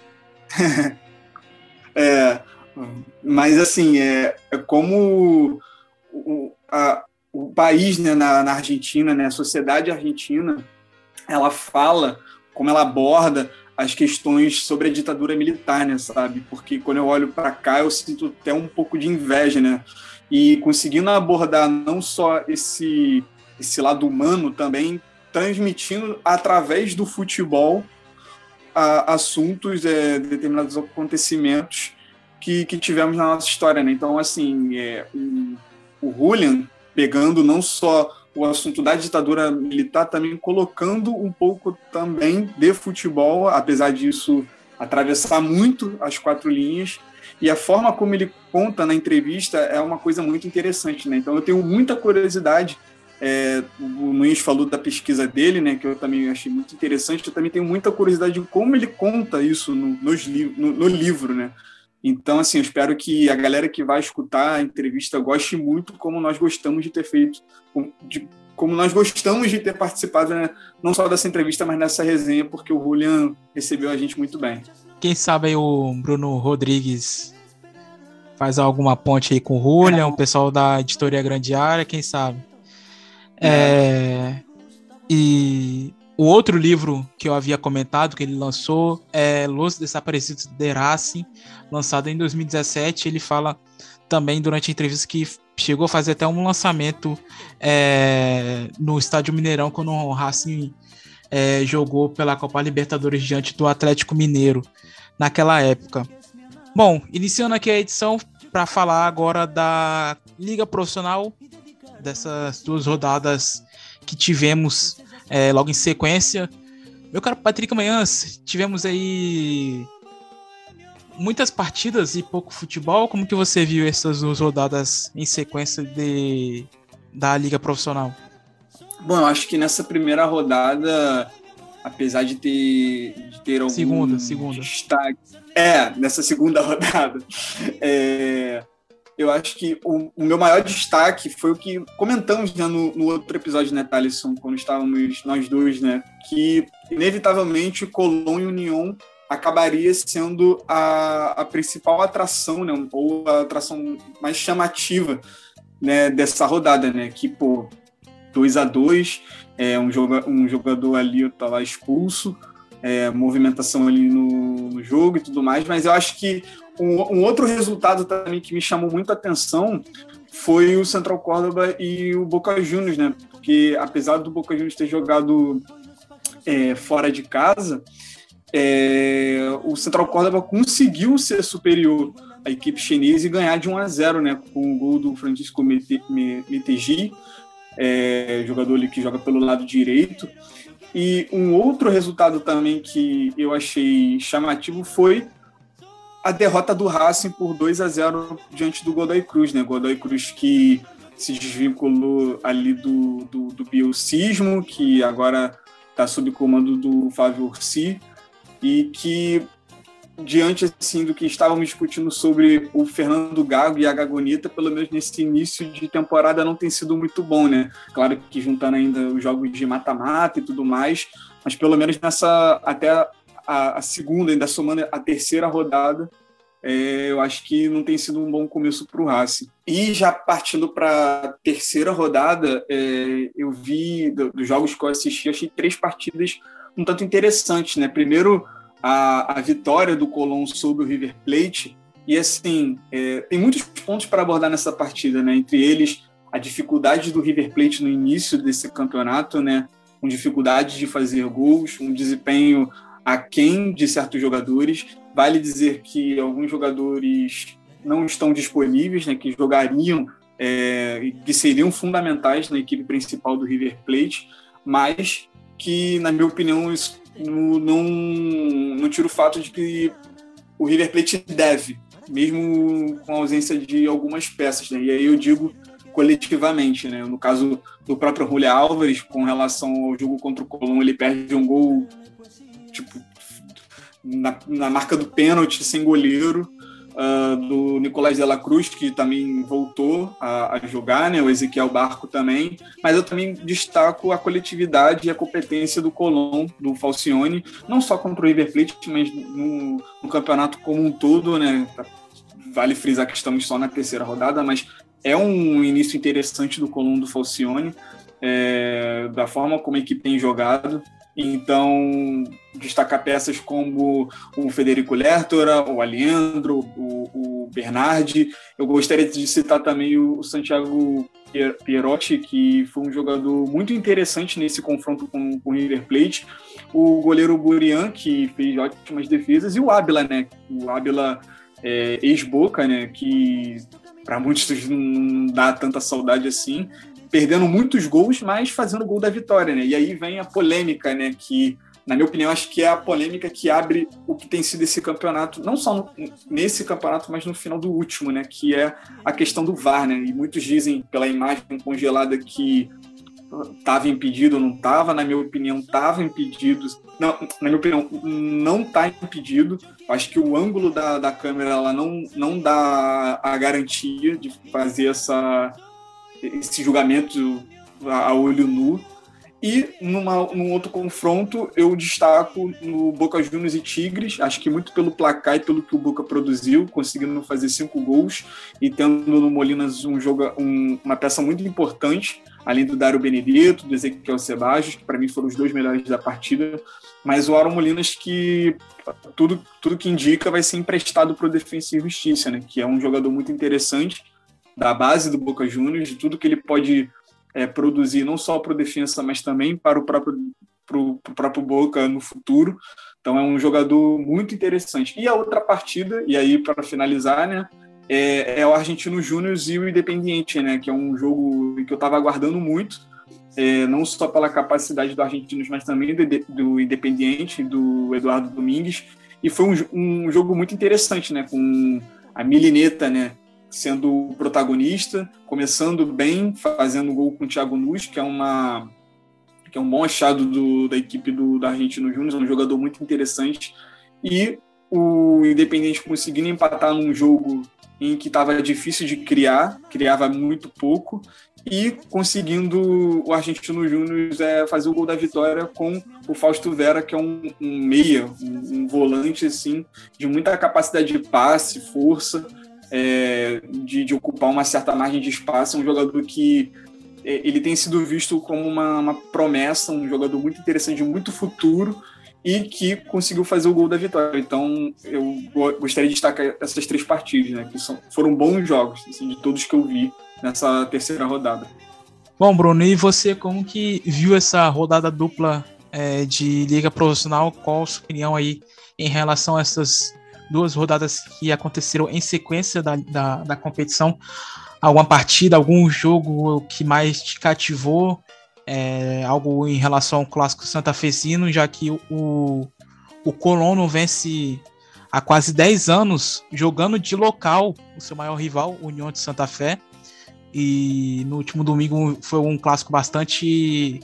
Mas assim, como o país, né, na Argentina, né, a sociedade argentina, ela fala, como ela aborda as questões sobre a ditadura militar, né, sabe? Porque quando eu olho para cá, eu sinto até um pouco de inveja, né? E conseguindo abordar não só esse lado humano, também transmitindo através do futebol assuntos, determinados acontecimentos que tivemos na nossa história, né? Então, assim, o Julian, pegando não só o assunto da ditadura militar, também colocando um pouco também de futebol, apesar disso atravessar muito as quatro linhas, e a forma como ele conta na entrevista é uma coisa muito interessante, né? Então eu tenho muita curiosidade. O Nunes falou da pesquisa dele, né, que eu também achei muito interessante. Eu também tenho muita curiosidade de como ele conta isso no livro, né? Então, assim, eu espero que a galera que vai escutar a entrevista goste muito, como nós gostamos de ter feito, como nós gostamos de ter participado, né, não só dessa entrevista, mas nessa resenha, porque o Julian recebeu a gente muito bem. Quem sabe aí o Bruno Rodrigues faz alguma ponte aí com o Julian, o pessoal da editoria Grande Área, quem sabe. E o outro livro que eu havia comentado, que ele lançou, é Los Desaparecidos de Racing, lançado em 2017. Ele fala também durante a entrevista que chegou a fazer até um lançamento no Estádio Mineirão, quando o Racing jogou pela Copa Libertadores diante do Atlético Mineiro naquela época. Bom, iniciando aqui a edição para falar agora da Liga Profissional, dessas 2 rodadas que tivemos logo em sequência. Meu caro Patrick Manhãs, tivemos aí muitas partidas e pouco futebol. Como que você viu essas 2 rodadas em sequência da Liga Profissional? Bom, eu acho que nessa primeira rodada, apesar de ter algum segunda. destaque... nessa segunda rodada, eu acho que o meu maior destaque foi o que comentamos, né, no outro episódio, né, Thalisson, quando estávamos nós dois, né, que inevitavelmente Colón e Unión acabaria sendo a principal atração, né, ou a atração mais chamativa, né, dessa rodada, né, que, 2-2, um jogador ali estava expulso, movimentação ali no jogo e tudo mais, mas eu acho que um outro resultado também que me chamou muita atenção foi o Central Córdoba e o Boca Juniors, né? Porque apesar do Boca Juniors ter jogado fora de casa, o Central Córdoba conseguiu ser superior à equipe chinesa e ganhar de 1-0, né? Com o gol do Francisco Meteji, jogador ali que joga pelo lado direito. E um outro resultado também que eu achei chamativo foi a derrota do Racing por 2-0 diante do Godoy Cruz, né? Godoy Cruz que se desvinculou ali do bielcismo, que agora está sob comando do Flávio Orsi, e que, diante assim, do que estávamos discutindo sobre o Fernando Gago e a Gagonita, pelo menos nesse início de temporada não tem sido muito bom, né? Claro que juntando ainda os jogos de mata-mata e tudo mais, mas pelo menos até a segunda, ainda somando a terceira rodada, eu acho que não tem sido um bom começo para o Racing. E já partindo para a terceira rodada, eu vi, dos jogos que eu assisti, achei 3 partidas um tanto interessantes, né? Primeiro, a vitória do Colón sobre o River Plate, e assim, tem muitos pontos para abordar nessa partida, né? Entre eles, a dificuldade do River Plate no início desse campeonato, né? Com dificuldade de fazer gols, um desempenho aquém de certos jogadores. Vale dizer que alguns jogadores não estão disponíveis, né, que jogariam, que seriam fundamentais na equipe principal do River Plate, mas que, na minha opinião, isso não tira o fato de que o River Plate deve, mesmo com a ausência de algumas peças, né? E aí eu digo coletivamente, né? No caso do próprio Julián Álvares, com relação ao jogo contra o Colón, ele perde um gol na marca do pênalti, sem goleiro, do Nicolás de la Cruz, que também voltou a jogar, né? O Ezequiel Barco também, mas eu também destaco a coletividade e a competência do Colón, do Falcione, não só contra o River Plate, mas no campeonato como um todo, né? Vale frisar que estamos só na terceira rodada, mas é um início interessante do Colón, do Falcione, da forma como a equipe tem jogado. Então, destacar peças como o Federico Lertora, o Aliendro, o Bernardi. Eu gostaria de citar também o Santiago Pierotti, que foi um jogador muito interessante nesse confronto com o River Plate. O goleiro Burian, que fez ótimas defesas, e o Ábila, né? O Ábila, ex-Boca, né? Que para muitos não dá tanta saudade assim, perdendo muitos gols, mas fazendo o gol da vitória, né? E aí vem a polêmica, né? Que, na minha opinião, acho que é a polêmica que abre o que tem sido esse campeonato, não só nesse campeonato, mas no final do último, né? Que é a questão do VAR, né? E muitos dizem, pela imagem congelada, que estava impedido ou não estava. Na minha opinião, estava impedido. Não, na minha opinião, não está impedido. Acho que o ângulo da câmera ela não dá a garantia de fazer esse julgamento a olho nu. E num outro confronto, eu destaco no Boca Juniors e Tigres, acho que muito pelo placar e pelo que o Boca produziu, conseguindo fazer 5 gols e tendo no Molinas uma peça muito importante, além do Dário Benedetto, do Ezequiel Ceballos, que para mim foram os 2 melhores da partida, mas o Aaron Molinas, que tudo que indica vai ser emprestado para o Defensa e Justiça, né? Que é um jogador muito interessante, da base do Boca Juniors, de tudo que ele pode produzir, não só para o Defensa, mas também para o próprio Boca no futuro. Então é um jogador muito interessante. E a outra partida, e aí para finalizar, né, é o Argentino Júnior e o Independiente, né, que é um jogo que eu estava aguardando muito, não só pela capacidade do Argentinos, mas também do Independiente, do Eduardo Domingues. E foi um jogo muito interessante, né, com a Milineta, né, sendo o protagonista, começando bem, fazendo gol com o Thiago Nunes, que é um bom achado da equipe do Argentino Júnior, um jogador muito interessante, e o Independiente conseguindo empatar num jogo em que estava difícil de criava muito pouco, e conseguindo o Argentino Júnior fazer o gol da vitória com o Fausto Vera, que é um meia, um volante assim, de muita capacidade de passe, força, de ocupar uma certa margem de espaço. É um jogador que ele tem sido visto como uma promessa, um jogador muito interessante, de muito futuro, e que conseguiu fazer o gol da vitória. Então eu gostaria de destacar essas 3 partidas, né, que foram bons jogos, assim, de todos que eu vi nessa terceira rodada. Bom, Bruno, e você como que viu essa rodada dupla de Liga Profissional? Qual a sua opinião aí em relação a essas 2 rodadas que aconteceram em sequência da competição? Alguma partida, algum jogo que mais te cativou? Algo em relação ao clássico santafesino, já que o Colón não vence há quase 10 anos jogando de local o seu maior rival, o União de Santa Fé, e no último domingo foi um clássico bastante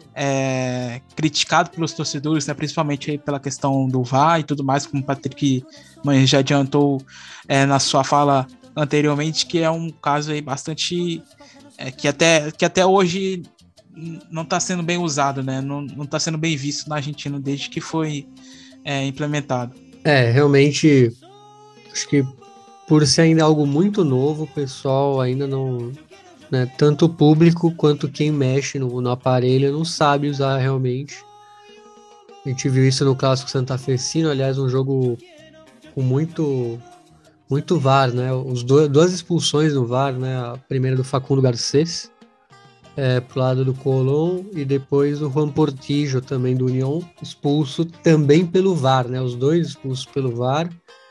criticado pelos torcedores, né, principalmente aí pela questão do VAR e tudo mais, como o Patrick já adiantou na sua fala anteriormente, que é um caso aí bastante que até hoje não está sendo bem usado, né? Não está sendo bem visto na Argentina desde que foi implementado. Realmente, acho que por ser ainda algo muito novo, o pessoal ainda não, né, tanto o público quanto quem mexe no aparelho não sabe usar realmente. A gente viu isso no clássico santafesino, aliás, um jogo com muito VAR, né? Duas expulsões no VAR, né? A primeira do Facundo Garcés pro lado do Colón, e depois o Juan Portillo também do União, expulso também pelo VAR, né? Os 2 expulsos pelo VAR.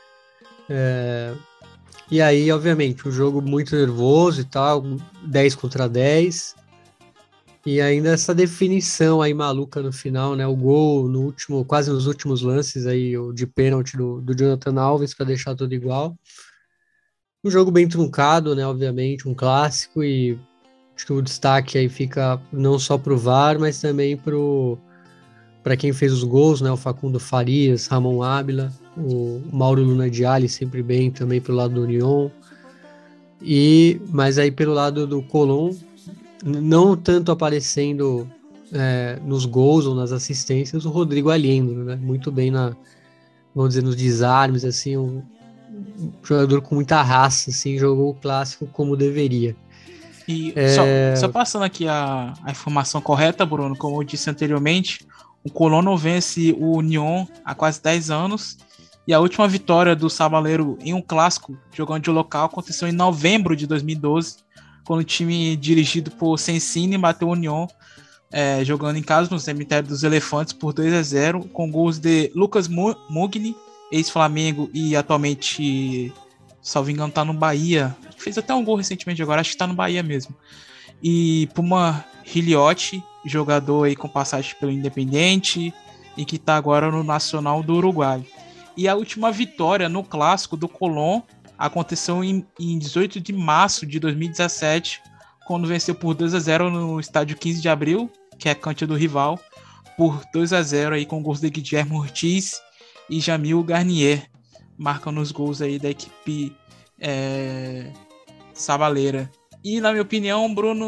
E aí, obviamente, um jogo muito nervoso e tal, 10 contra 10. E ainda essa definição aí maluca no final, né? O gol quase nos últimos lances aí, o de pênalti do Jonathan Alves para deixar tudo igual. Um jogo bem truncado, né? Obviamente, um clássico, e acho que o destaque aí fica não só pro VAR, mas também para quem fez os gols, né? O Facundo Farias, Ramon Ábila, o Mauro Luna Dialli sempre bem também pelo lado do União. Mas aí pelo lado do Colón, não tanto aparecendo nos gols ou nas assistências, o Rodrigo Aliendro, né? Muito bem vamos dizer, nos desarmes, assim, um jogador com muita raça, assim, jogou o clássico como deveria. E só passando aqui a informação correta, Bruno, como eu disse anteriormente, o Colón não vence o União há quase 10 anos, e a última vitória do Sabaleiro em um clássico, jogando de local, aconteceu em novembro de 2012, quando o time dirigido por Sensini bateu o União, jogando em casa no Cemitério dos Elefantes por 2-0, com gols de Lucas Mugni, ex-Flamengo e atualmente, salvo engano, tá no Bahia. Fez até um gol recentemente agora, acho que tá no Bahia mesmo. E Puma Hiliotti, jogador aí com passagem pelo Independiente e que tá agora no Nacional do Uruguai. E a última vitória no clássico do Colón aconteceu em 18 de março de 2017, quando venceu por 2-0 no estádio 15 de abril, que é a cancha do rival, por 2-0 aí com gols de Guilherme Ortiz e Jamil Garnier, marcando os gols aí da equipe sabaleira. E na minha opinião, Bruno,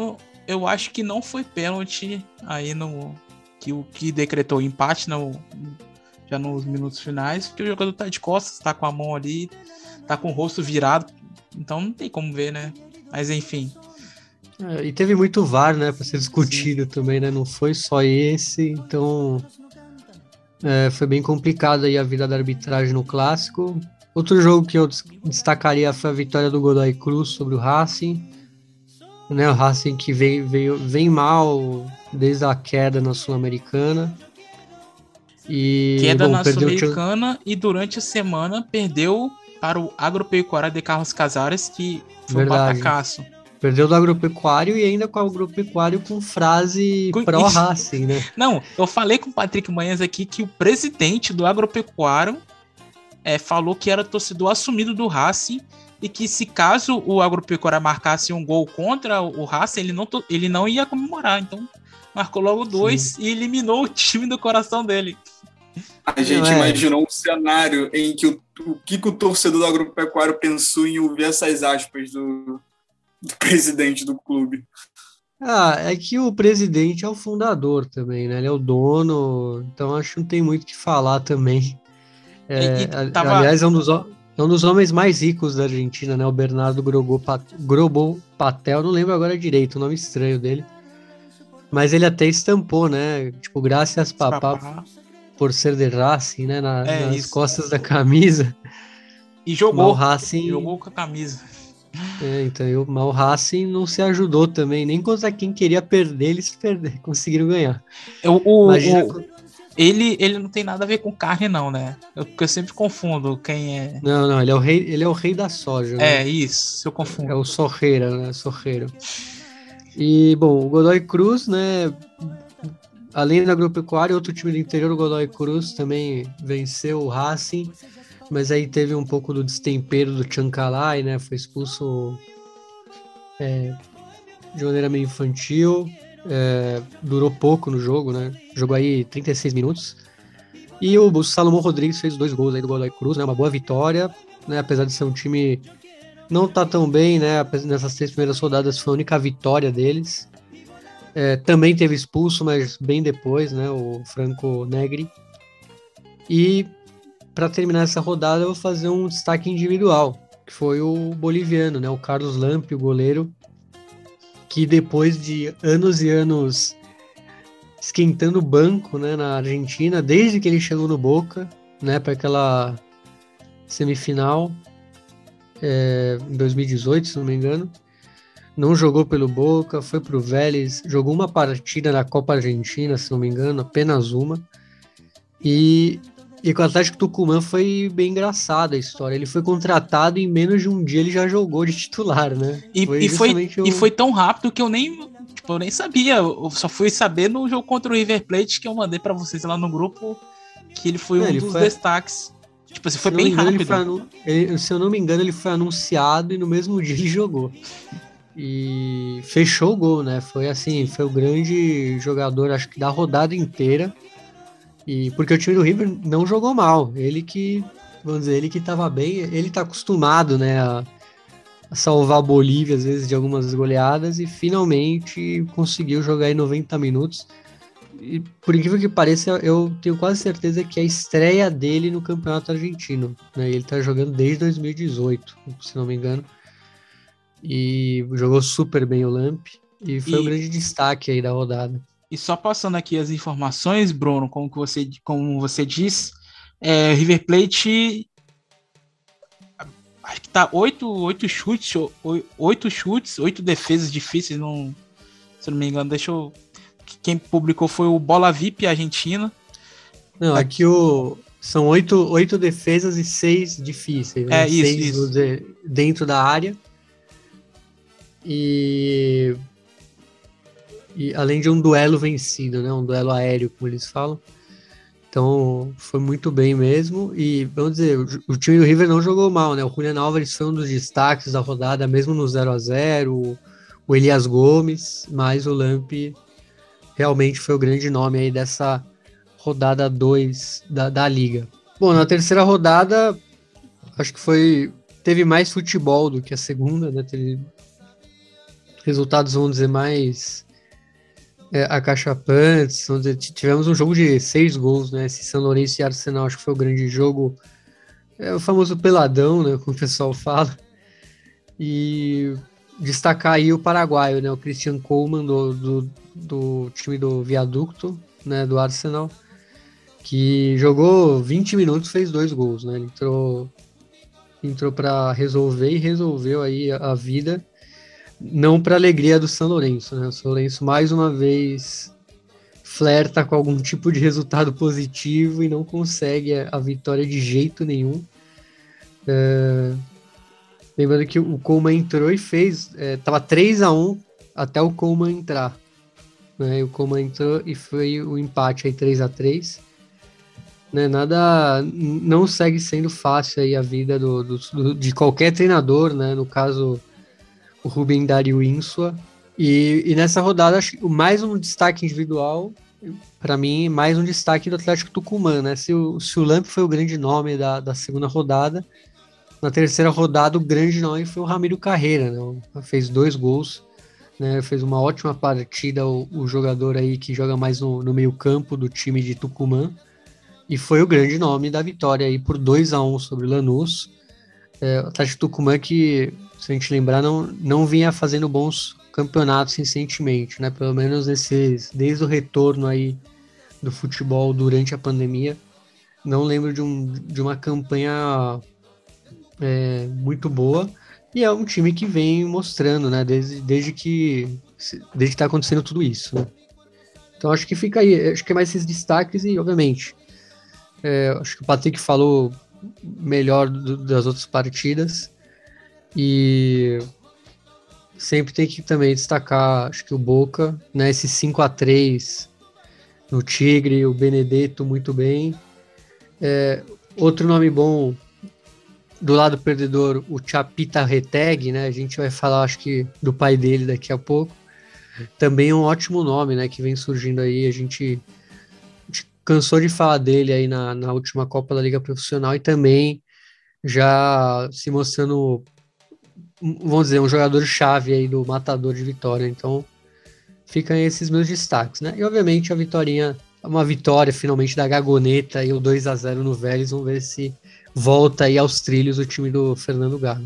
Eu acho que não foi pênalti aí o que decretou o empate já nos minutos finais, porque o jogador tá de costas, tá com a mão ali, tá com o rosto virado, então não tem como ver, né? Mas enfim. E teve muito VAR, né, para ser discutido também, né? Não foi só esse, então foi bem complicado aí a vida da arbitragem no clássico. Outro jogo que eu destacaria foi a vitória do Godoy Cruz sobre o Racing, né? O Racing que vem mal desde a queda na Sul-Americana. Queda na Sul-Americana e durante a semana perdeu para o Agropecuária de Carlos Casares, que foi um batacaço. Perdeu do Agropecuário e ainda com o Agropecuário com frase pró-Racing, né? Não, eu falei com o Patrick Manhãs aqui que o presidente do Agropecuário falou que era torcedor assumido do Racing e que se caso o Agropecuária marcasse um gol contra o Racing, ele não ia comemorar. Então, marcou logo 2 e eliminou o time do coração dele. A gente imaginou um cenário em que o que o torcedor do Agropecuário pensou em ouvir essas aspas do presidente do clube. É que o presidente é o fundador também, né? Ele é o dono, então acho que não tem muito o que falar também. Aliás, é um dos homens mais ricos da Argentina, né? O Bernardo Grobon Patel, não lembro agora direito o nome estranho dele. Mas ele até estampou, né? Tipo, graças papá por ser de Racing, né? Nas costas da camisa. E jogou com a camisa. Então o Racing não se ajudou também, nem contra quem queria perder, eles conseguiram ganhar. Ele não tem nada a ver com carne, não, né? Eu sempre confundo quem é. Não, ele é o rei da soja. Né? Isso, eu confundo. É o Sorreira, né? Sorreiro. E, bom, o Godoy Cruz, né? Além do Agropecuário, outro time do interior, o Godoy Cruz, também venceu o Racing. Mas aí teve um pouco do destempero do Chancalay, né? Foi expulso de maneira meio infantil. Durou pouco no jogo, né? Jogou aí 36 minutos. E o Salomão Rodrigues fez 2 gols aí do Godoy Cruz, né? Uma boa vitória, né? Apesar de ser um time não tá tão bem, né? Nessas 3 primeiras rodadas foi a única vitória deles. Também teve expulso, mas bem depois, né? O Franco Negri. E para terminar essa rodada, eu vou fazer um destaque individual, que foi o boliviano, né? O Carlos Lampe, o goleiro, que depois de anos e anos esquentando o banco, né, na Argentina, desde que ele chegou no Boca, né, para aquela semifinal em 2018, se não me engano, não jogou pelo Boca, foi pro Vélez, jogou uma partida na Copa Argentina, se não me engano, apenas uma, e com o Atlético Tucumã foi bem engraçada a história. Ele foi contratado e em menos de um dia ele já jogou de titular, né? E foi tão rápido que eu nem sabia. Eu só fui saber no jogo contra o River Plate, que eu mandei pra vocês lá no grupo, que ele foi um dos destaques. Tipo assim, foi bem rápido. Se eu não me engano, ele foi anunciado e no mesmo dia ele jogou. E fechou o gol, né? Foi o grande jogador, acho que da rodada inteira. E porque o time do River não jogou mal, ele que estava bem, ele tá acostumado, né, a salvar a Bolívia às vezes de algumas goleadas e finalmente conseguiu jogar em 90 minutos. E por incrível que pareça, eu tenho quase certeza que é a estreia dele no Campeonato Argentino, né? Ele tá jogando desde 2018, se não me engano, e jogou super bem o Lamp e foi um grande destaque aí da rodada. E só passando aqui as informações, Bruno, como você disse, River Plate, acho que tá 8 chutes, 8 defesas difíceis, se não me engano, quem publicou foi o Bola VIP argentino. Não, aqui são 8 defesas e 6 difíceis, né? Isso. Dentro da área. E além de um duelo vencido, né? Um duelo aéreo, como eles falam. Então, foi muito bem mesmo. E, vamos dizer, o time do River não jogou mal, né? O Julián Álvares foi um dos destaques da rodada, mesmo no 0-0. O Elias Gomes, mas o Lamp realmente foi o grande nome aí dessa rodada 2 da Liga. Bom, na terceira rodada, acho que teve mais futebol do que a segunda, né? resultados, vamos dizer, mais acachapantes. Vamos dizer, tivemos um jogo de 6 gols, né? Esse São Lourenço e Arsenal, acho que foi o grande jogo. É o famoso peladão, né? Como o pessoal fala. E destacar aí o paraguaio, né? O Christian Coleman do time do Viaducto, né? Do Arsenal, que jogou 20 minutos, fez 2 gols, né? Ele entrou para resolver e resolveu aí a vida, não para alegria do São Lourenço, né? O São Lourenço mais uma vez flerta com algum tipo de resultado positivo e não consegue a vitória de jeito nenhum. Lembrando que o Coleman entrou e fez, tava 3-1 até o Coleman entrar, né? E o Coleman entrou e foi o empate aí 3-3. Né, não segue sendo fácil aí a vida de qualquer treinador, né? No caso, o Rubem Dario Insua. E nessa rodada, acho que mais um destaque individual, para mim, mais um destaque do Atlético Tucumã, né? Se o Lamp foi o grande nome da segunda rodada, na terceira rodada, o grande nome foi o Ramiro Carreira, né? Fez 2 gols, né? Fez uma ótima partida, o jogador aí que joga mais no meio-campo do time de Tucumã. E foi o grande nome da vitória aí por 2-1 sobre o Lanús. O Atlético Tucumã que, se a gente lembrar, não vinha fazendo bons campeonatos recentemente, né? Pelo menos desde o retorno aí do futebol durante a pandemia. Não lembro de uma campanha muito boa. E é um time que vem mostrando, né? Desde que está acontecendo tudo isso, né? Então acho que fica aí, acho que é mais esses destaques e, obviamente, acho que o Patrick falou melhor das outras partidas e sempre tem que também destacar, acho que o Boca, né, esse 5-3 no Tigre, o Benedetto muito bem. Outro nome bom do lado perdedor, o Chapita Reteg, né, a gente vai falar, acho que, do pai dele daqui a pouco. Também é um ótimo nome, né, que vem surgindo aí, a gente cansou de falar dele aí na última Copa da Liga Profissional e também já se mostrando, vamos dizer, um jogador-chave aí do matador de Vitória. Então, ficam esses meus destaques, né? E, obviamente, uma vitória finalmente da Gagoneta e o 2-0 no Vélez. Vamos ver se volta aí aos trilhos o time do Fernando Gago.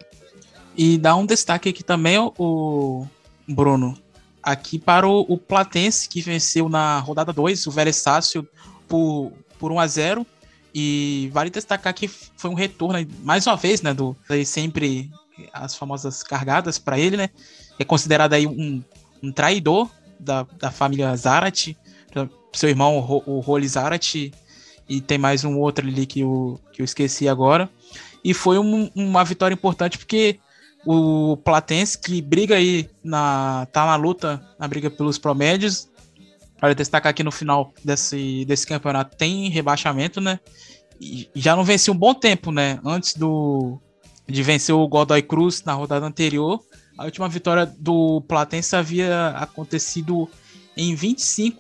E dá um destaque aqui também, o Bruno, aqui para o Platense, que venceu na rodada 2, o Vélez Sácio, por 1-0. E vale destacar que foi um retorno, mais uma vez, né, sempre as famosas cargadas para ele, né? É considerado aí um traidor da família Zarate, seu irmão, o Roli Zarate, e tem mais um outro ali que eu esqueci agora. E foi uma vitória importante porque o Platense, que briga aí, tá na luta, na briga pelos promédios. Vale destacar aqui no final desse campeonato tem rebaixamento, né? E já não venceu um bom tempo, né? Antes de vencer o Godoy Cruz na rodada anterior, a última vitória do Platense havia acontecido em 20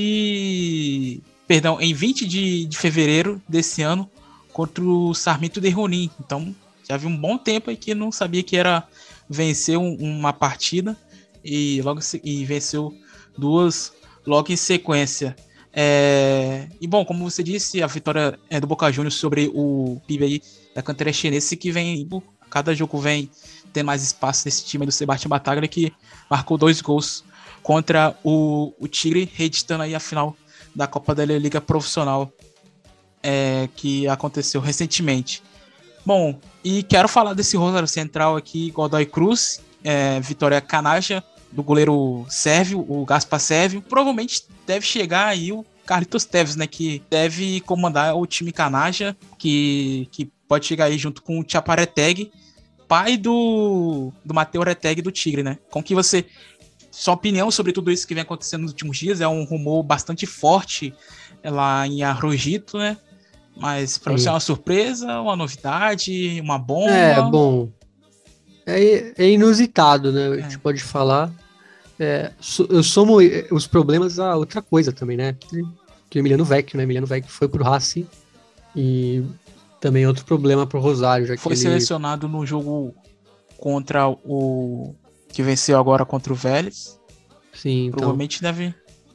de fevereiro desse ano, contra o Sarmiento de Junín. Então, já havia um bom tempo aí que não sabia que era vencer uma partida e venceu 2 logo em sequência. E bom, como você disse, a vitória é do Boca Juniors sobre o PIB aí da canteira chinesa, que vem, cada jogo vem ter mais espaço nesse time do Sebastião Bataglia, que marcou 2 gols contra o Tigre, reeditando aí a final da Copa da Liga Profissional, que aconteceu recentemente. Bom, e quero falar desse Rosário Central aqui, Godoy Cruz, vitória canagem do goleiro sérvio, o Gaspar Sérvio. Provavelmente deve chegar aí o Carlitos Teves, né, que deve comandar o time canagem, que pode chegar aí junto com o Chapareteg, pai do Mateu Reteg do Tigre, né? Sua opinião sobre tudo isso que vem acontecendo nos últimos dias? É um rumor bastante forte lá em Arrojito, né? Mas para você é uma surpresa, uma novidade, uma bomba? Bom, é inusitado, né? A gente pode falar. Eu somo os problemas a outra coisa também, né? Que o Emiliano Vecchio, né? Emiliano Vecchio foi pro Racing e também outro problema pro Rosário. Já foi que selecionado no jogo contra o que venceu agora contra o Vélez. Sim, então. Provavelmente deve...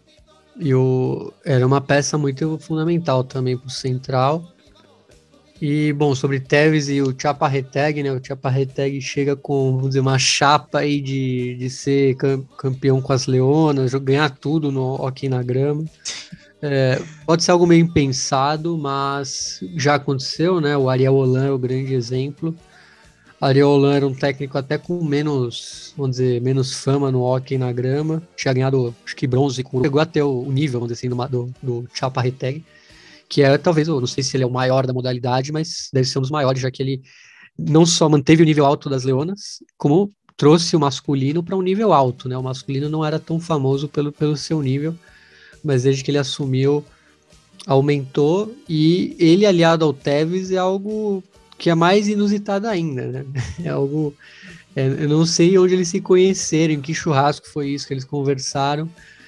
Era uma peça muito fundamental também para o Central. E, bom, sobre Tevez e o Chaparreteg, né? O Chaparreteg chega com, vamos dizer, uma chapa aí de ser campeão com as Leonas, ganhar tudo no hockey na grama. Pode ser algo meio impensado, mas já aconteceu, né? O Ariel Holan é o grande exemplo. O Ariel Holan era um técnico até com menos, vamos dizer, menos fama no hockey na grama. Tinha ganhado, acho que bronze, chegou até o nível, vamos dizer assim, do Chaparreteg, que é talvez, eu não sei se ele é o maior da modalidade, mas deve ser um dos maiores, já que ele não só manteve o nível alto das Leonas, como trouxe o masculino para um nível alto, né? O masculino não era tão famoso pelo seu nível, mas desde que ele assumiu, aumentou, e ele aliado ao Tevez é algo que é mais inusitado ainda, né? É algo... eu não sei onde eles se conheceram, em que churrasco foi isso que eles conversaram,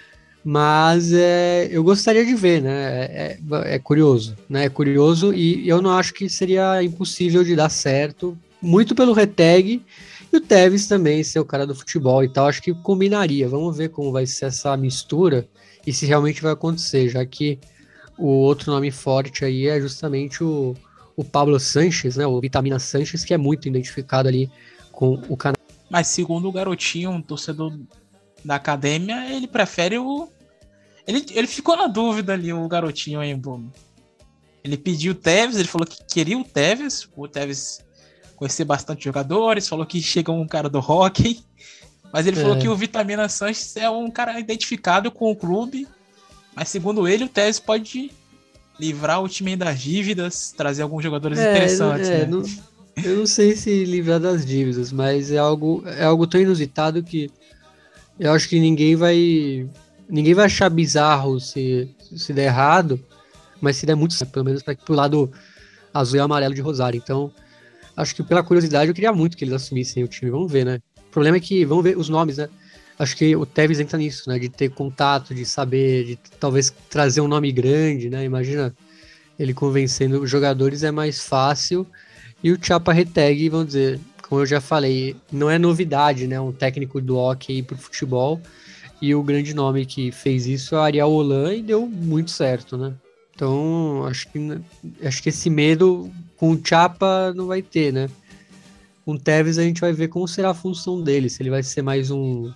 mas eu gostaria de ver, né? É curioso, né? É curioso, e eu não acho que seria impossível de dar certo, muito pelo Reteg, e o Tevez também ser o cara do futebol e tal, acho que combinaria. Vamos ver como vai ser essa mistura e se realmente vai acontecer, já que o outro nome forte aí é justamente o Pablo Sanches, né? O Vitamina Sanches, que é muito identificado ali com o canal. Mas segundo o garotinho, um torcedor da academia, ele prefere o... Ele ficou na dúvida ali, o garotinho aí, Bruno. Ele pediu o Tevez, ele falou que queria o Tevez conhecer bastante jogadores, falou que chega um cara do hockey, mas ele falou que o Vitamina Sanches é um cara identificado com o clube, mas segundo ele, o Tevez pode livrar o time das dívidas, trazer alguns jogadores interessantes, né? Eu não sei se livrar das dívidas, mas é algo tão inusitado que eu acho que ninguém vai achar bizarro se der errado, mas se der muito certo, pelo menos para pro lado azul e amarelo de Rosário. Então, acho que pela curiosidade eu queria muito que eles assumissem o time. Vamos ver, né? O problema é que, vamos ver os nomes, né? Acho que o Tevez entra nisso, né? De ter contato, de saber, de talvez trazer um nome grande, né? Imagina ele convencendo os jogadores, é mais fácil. E o Chaparreteg, vamos dizer, como eu já falei, não é novidade, né? Um técnico do hockey pro futebol. E o grande nome que fez isso é o Ariel Holan e deu muito certo, né? Então, acho que esse medo com o Chapa não vai ter, né? Com o Tevez a gente vai ver como será a função dele, se ele vai ser mais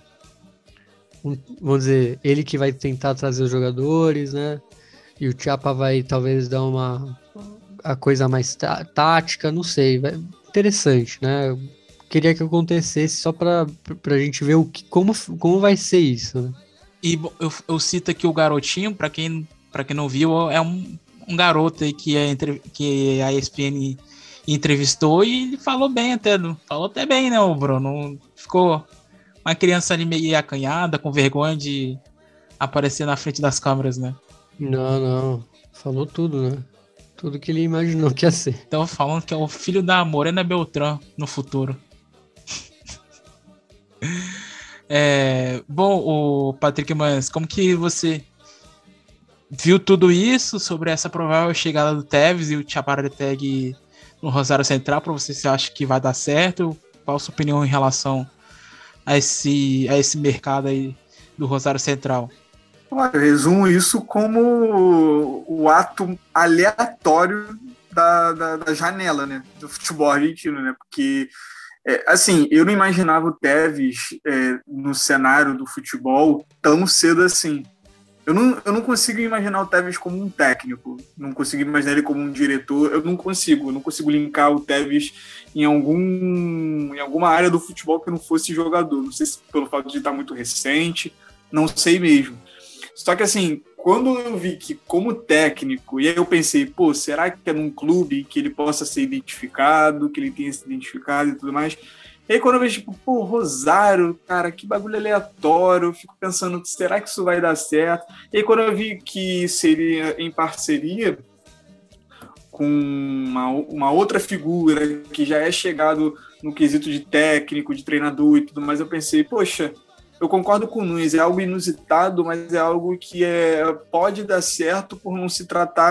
vamos dizer, ele que vai tentar trazer os jogadores, né? E o Chapa vai talvez dar a coisa mais tática, não sei, interessante, né? Queria que acontecesse só pra gente ver como vai ser isso, né? E eu cito aqui o garotinho, pra quem não viu, é um garoto aí que a ESPN entrevistou, e ele falou até bem, né, o Bruno? Ficou uma criança ali meio acanhada, com vergonha de aparecer na frente das câmeras, né? Não, falou tudo, né? Tudo que ele imaginou que ia ser. Então falando que é o filho da Morena Beltrán no futuro. Bom, o Patrick Manhães, como que você viu tudo isso sobre essa provável chegada do Tevez e o Chaparreteg no Rosário Central? Para você acha que vai dar certo? Qual a sua opinião em relação a esse mercado aí do Rosário Central? Olha, eu resumo isso como o ato aleatório da janela, né, do futebol argentino, né? Porque assim, eu não imaginava o Tevez no cenário do futebol tão cedo assim. Eu não consigo imaginar o Tevez como um técnico, não consigo imaginar ele como um diretor, eu não consigo linkar o Tevez em alguma área do futebol que não fosse jogador. Não sei se pelo fato de estar muito recente, não sei mesmo. Só que assim, quando eu vi que como técnico, e aí eu pensei, pô, será que é num clube que ele possa ser identificado, que ele tenha se identificado e tudo mais? E aí quando eu vejo, tipo, pô, Rosário, cara, que bagulho aleatório, eu fico pensando, será que isso vai dar certo? E aí quando eu vi que seria em parceria com uma outra figura que já é chegado no quesito de técnico, de treinador e tudo mais, eu pensei, poxa, eu concordo com o Nunes, é algo inusitado, mas é algo que pode dar certo por não se tratar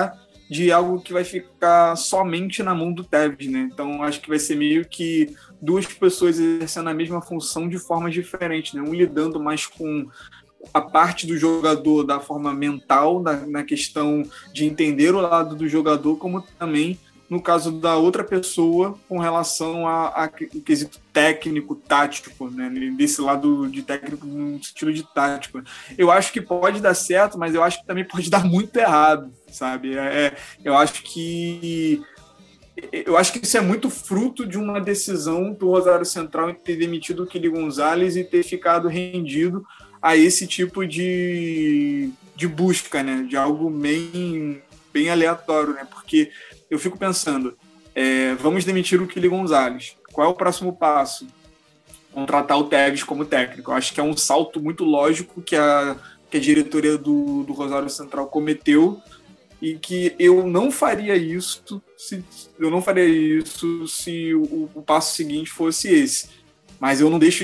de algo que vai ficar somente na mão do Tevez, né? Então acho que vai ser meio que duas pessoas exercendo a mesma função de formas diferentes, né? Um lidando mais com a parte do jogador da forma mental, na questão de entender o lado do jogador, como também no caso da outra pessoa com relação ao quesito técnico, tático, né? Desse lado de técnico no sentido de tático. Eu acho que pode dar certo, mas eu acho que também pode dar muito errado, sabe? Eu acho que isso é muito fruto de uma decisão do Rosário Central em ter demitido o Quili Gonzalez e ter ficado rendido a esse tipo de busca, né? De algo bem aleatório, né? Porque eu fico pensando, vamos demitir o Quili Gonzalez. Qual é o próximo passo? Contratar o Tevez como técnico. Eu acho que é um salto muito lógico que a diretoria do Rosário Central cometeu e que eu não faria isso se o passo seguinte fosse esse. Mas eu não deixo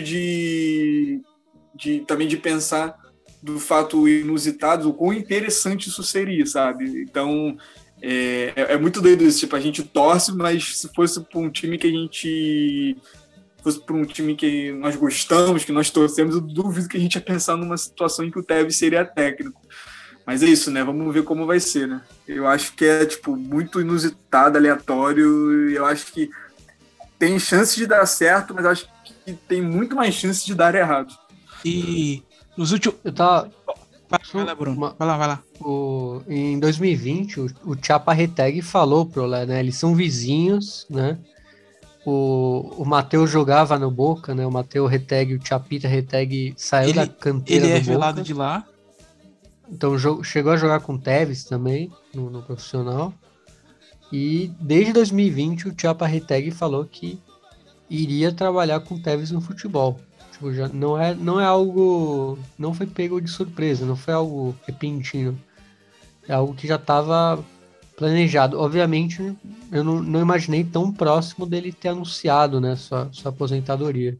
também de pensar do fato inusitado, o quão interessante isso seria, sabe? Então, é muito doido isso. Tipo, a gente torce, mas se fosse para um time que nós gostamos, que nós torcemos, eu duvido que a gente ia pensar numa situação em que o Tevez seria técnico. Mas é isso, né? Vamos ver como vai ser, né? Eu acho que é, tipo, muito inusitado, aleatório, e eu acho que tem chance de dar certo, mas eu acho que tem muito mais chance de dar errado. E nos últimos... Vai lá, Bruno. Vai lá. Em 2020, o Chapa Reteg falou pro Olé, né? Eles são vizinhos, né? O Matheus jogava no Boca, né? O Matheus Reteg, o Chapita Reteg saiu da canteira do Boca. Ele é velado de lá. Então chegou a jogar com o Tevez também, no profissional. E desde 2020 o Chapa Reteg falou que iria trabalhar com o Tevez no futebol. Tipo, já não é algo... Não foi pego de surpresa, não foi algo repentino. É algo que já estava planejado. Obviamente, eu não imaginei tão próximo dele ter anunciado, né, sua aposentadoria.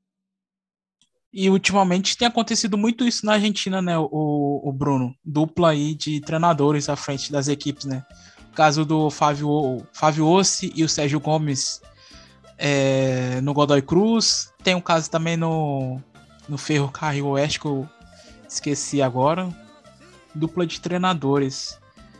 E ultimamente tem acontecido muito isso na Argentina, né, o Bruno? Dupla aí de treinadores à frente das equipes, né? O caso do Fábio Ossi e o Sérgio Gomes no Godoy Cruz. Tem um caso também no Ferrocarril Oeste, que eu esqueci agora. Dupla de treinadores.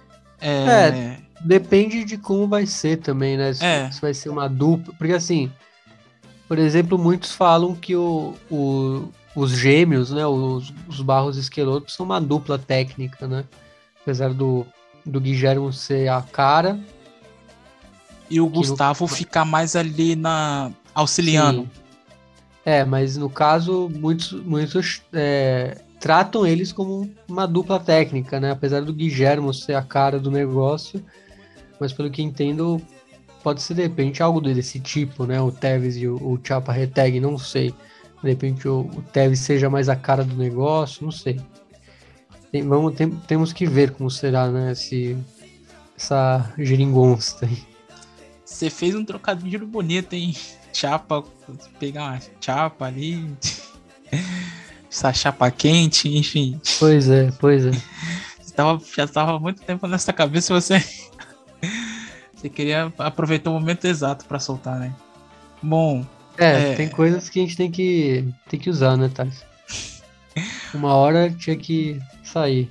Depende de como vai ser também, né? Se vai ser uma dupla. Porque assim... Por exemplo, muitos falam que os gêmeos, né, os Barros Esqueloto são uma dupla técnica, né? Apesar do Guilherme ser a cara. E o Gustavo ficar mais ali auxiliando. Sim. Mas no caso, muitos tratam eles como uma dupla técnica, né? Apesar do Guilherme ser a cara do negócio. Mas pelo que entendo... Pode ser, de repente, algo desse tipo, né? O Tevez e o Chapa Reteg, não sei. De repente, o Tevez seja mais a cara do negócio, não sei. Temos que ver como será, né? Essa geringonça aí. Você fez um trocadilho bonito, hein? Chapa, pegar uma chapa ali. Essa chapa quente, enfim. Pois é. Já estava há muito tempo nessa cabeça, você queria aproveitar o momento exato para soltar, né? Bom... tem coisas que a gente tem que usar, né, Thales? Uma hora tinha que sair.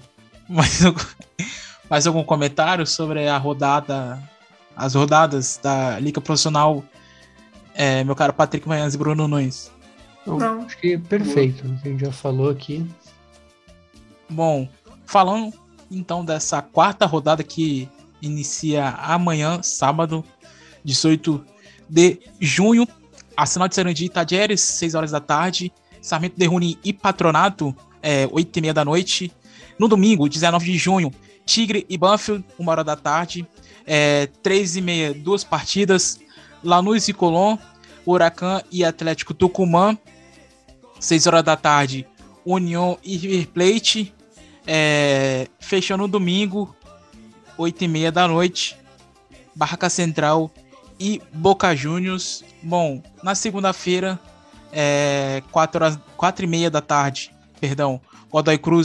Mais algum comentário sobre as rodadas da Liga Profissional, meu caro Patrick Manhãs e Bruno Nunes? Não, acho que perfeito. A gente já falou aqui. Bom, falando então dessa quarta rodada que inicia amanhã, sábado, 18 de junho. Arsenal de Sarandi e Tajeres, 6 horas da tarde. Sarmiento de Junín e Patronato, 8h30 da noite. No domingo, 19 de junho, Tigre e Banfield, 1 hora da tarde. 3h30, 2 partidas. Lanús e Colón, Huracan e Atlético Tucumã, 6 horas da tarde. União e River Plate. Fechando no domingo, 8h30 da noite, Barraca Central e Boca Juniors. Bom, na segunda-feira, 4h30 da tarde, Godoy Cruz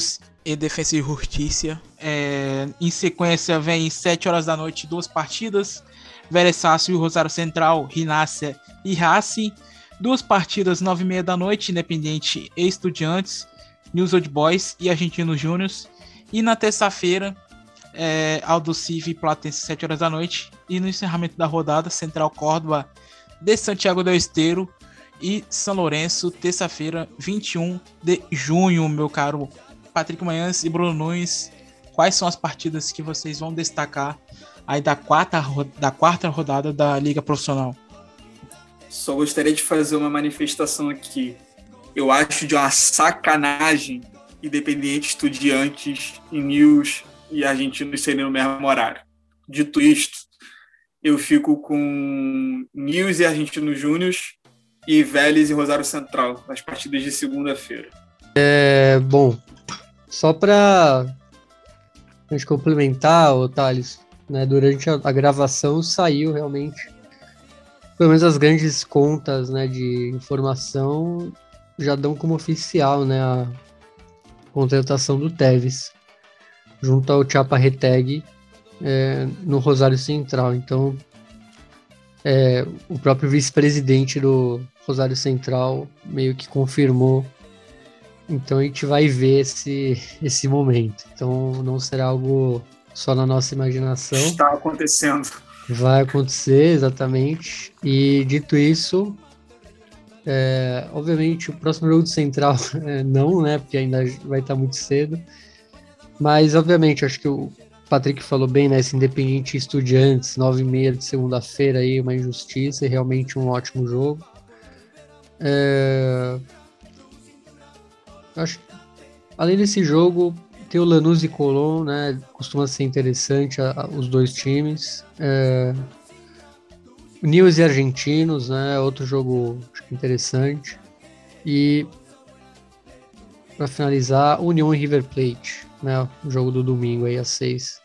e Defensa e Justiça. Em sequência, vem 7 horas da noite, 2 partidas. Vélez Sársfield e Rosário Central, Rinácia e Racing. 2 partidas, 9h30 da noite, Independiente e Estudiantes, News Old Boys e Argentinos Júniors. E na terça-feira, Aldo Civi e Platense, 7 horas da noite. E no encerramento da rodada, Central Córdoba de Santiago del Estero e São Lourenço, terça-feira, 21 de junho, meu caro Patrick Manhãs e Bruno Nunes. Quais são as partidas que vocês vão destacar aí da quarta rodada da Liga Profissional? Só gostaria de fazer uma manifestação aqui. Eu acho de uma sacanagem Independiente, Estudiantes e News e Argentinos serem no mesmo horário. Dito isto, eu fico com News e Argentinos Júniors e Vélez e Rosário Central, nas partidas de segunda-feira. Bom, só para a gente complementar, Thales, né, durante a gravação saiu realmente, pelo menos as grandes contas, né, de informação já dão como oficial, né, a contratação do Tevez junto ao Chapa Reteg no Rosário Central. Então, o próprio vice-presidente do Rosário Central meio que confirmou. Então a gente vai ver esse momento. Então não será algo só na nossa imaginação. Está acontecendo. Vai acontecer, exatamente. E dito isso, obviamente o próximo jogo do Central não, né? Porque ainda vai estar muito cedo. Mas obviamente, acho que o Patrick falou bem, né? Esse Independiente Estudiantes, 9h30 de segunda-feira aí, uma injustiça e realmente um ótimo jogo. Acho que, além desse jogo, tem o Lanús e Colón, né? Costuma ser interessante os dois times. News e Argentinos, né? Outro jogo acho que interessante. E para finalizar, União e River Plate, né? O jogo do domingo aí às 6.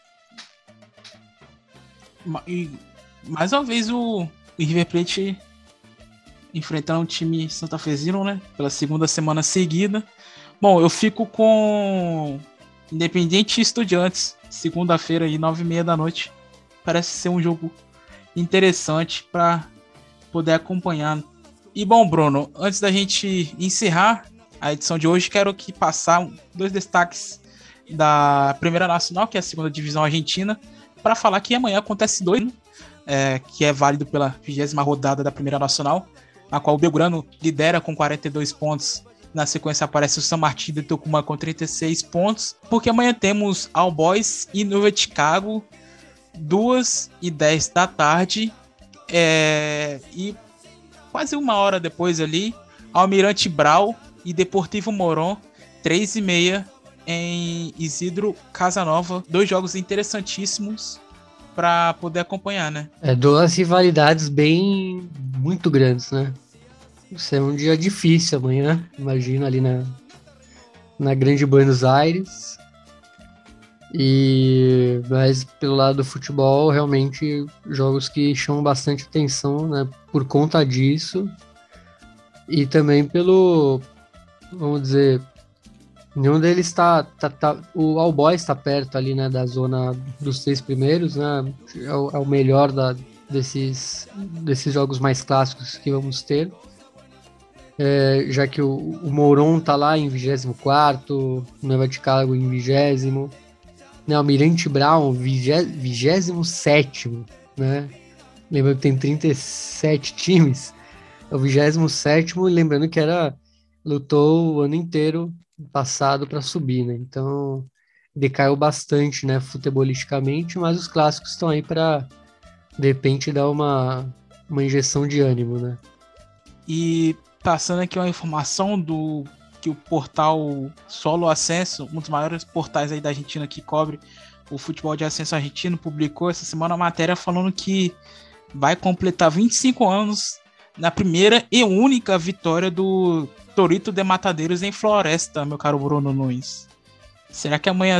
E mais uma vez o River Plate enfrentando um time santafesino, né? Pela segunda semana seguida. Bom, eu fico com Independiente e Estudiantes, segunda-feira aí, 9h30 da noite. Parece ser um jogo interessante para poder acompanhar. E bom, Bruno, antes da gente encerrar a edição de hoje, quero aqui passar 2 destaques da Primeira Nacional, que é a segunda divisão argentina, para falar que amanhã acontece 2, que é válido pela 20ª rodada da Primeira Nacional, a qual o Belgrano lidera com 42 pontos. Na sequência aparece o San Martín de Tucumã com 36 pontos, porque amanhã temos All Boys e Nova Chicago, 2h10 da tarde, e quase uma hora depois ali, Almirante Brau e Deportivo Morón, 3h30 em Isidro Casanova. 2 jogos interessantíssimos para poder acompanhar, né? 2 rivalidades muito grandes, né? Vai ser um dia difícil amanhã, imagino, ali na Grande Buenos Aires. Mas pelo lado do futebol, realmente jogos que chamam bastante atenção, né? Por conta disso. E também vamos dizer, nenhum deles está o All Boys está perto ali, né, da zona dos 3 primeiros, né? É o melhor desses jogos mais clássicos que vamos ter. Já que o Morón tá lá em 24º, o Nova Chicago em 20º, né, o Almirante Brown 27º, né? Lembrando que tem 37 times, é o 27º, e lembrando que lutou o ano inteiro passado para subir, né? Então decaiu bastante, né, futebolisticamente, mas os clássicos estão aí para de repente dar uma injeção de ânimo, né? E passando aqui uma informação que o portal Solo Ascenso, um dos maiores portais aí da Argentina que cobre o futebol de ascenso argentino, publicou essa semana uma matéria falando que vai completar 25 anos na primeira e única vitória do Torito de Matadeiros em Floresta, meu caro Bruno Nunes. Será que amanhã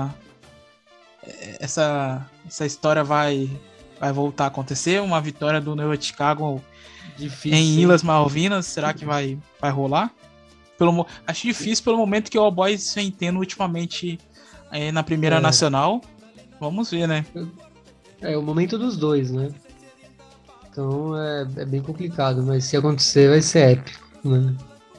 essa história vai voltar a acontecer? Uma vitória do Nova Chicago difícil em Ilhas Malvinas, será que vai rolar? Acho difícil pelo momento que o All Boys vem tendo ultimamente na Primeira Nacional. Vamos ver, né? É o momento dos dois, né? Então é bem complicado, mas se acontecer vai ser épico, né?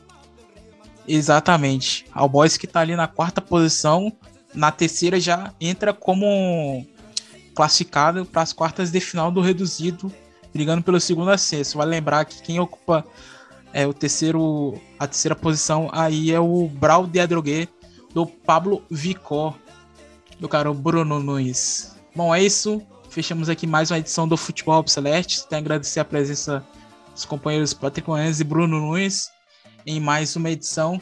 Exatamente. All Boys que tá ali na 4ª posição, na terceira já entra como classificado para as quartas de final do reduzido, brigando pelo segundo acesso. Vale lembrar que quem ocupa a terceira posição aí é o Brau de Adrogué, do Pablo Vicó, do cara Bruno Nunes. Bom, é isso. Fechamos aqui mais uma edição do Futebol Obsolete. Tenho a agradecer a presença dos companheiros Patrick Manhães e Bruno Nunes em mais uma edição.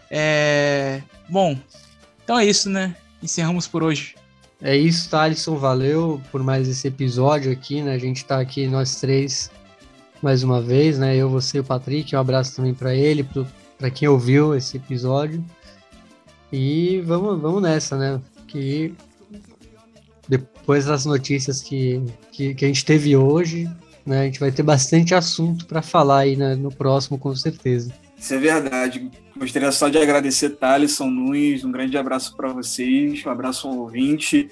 Bom, então é isso, né? Encerramos por hoje. É isso, Thalisson. Valeu por mais esse episódio aqui, né? A gente tá aqui, nós três, mais uma vez, né? Eu, você e o Patrick. Um abraço também para ele, para quem ouviu esse episódio. E vamos nessa, né? Que depois das notícias que a gente teve hoje, né? A gente vai ter bastante assunto para falar aí, né, no próximo, com certeza. Isso é verdade. Gostaria só de agradecer Thalisson Nunes, um grande abraço para vocês, um abraço ao ouvinte,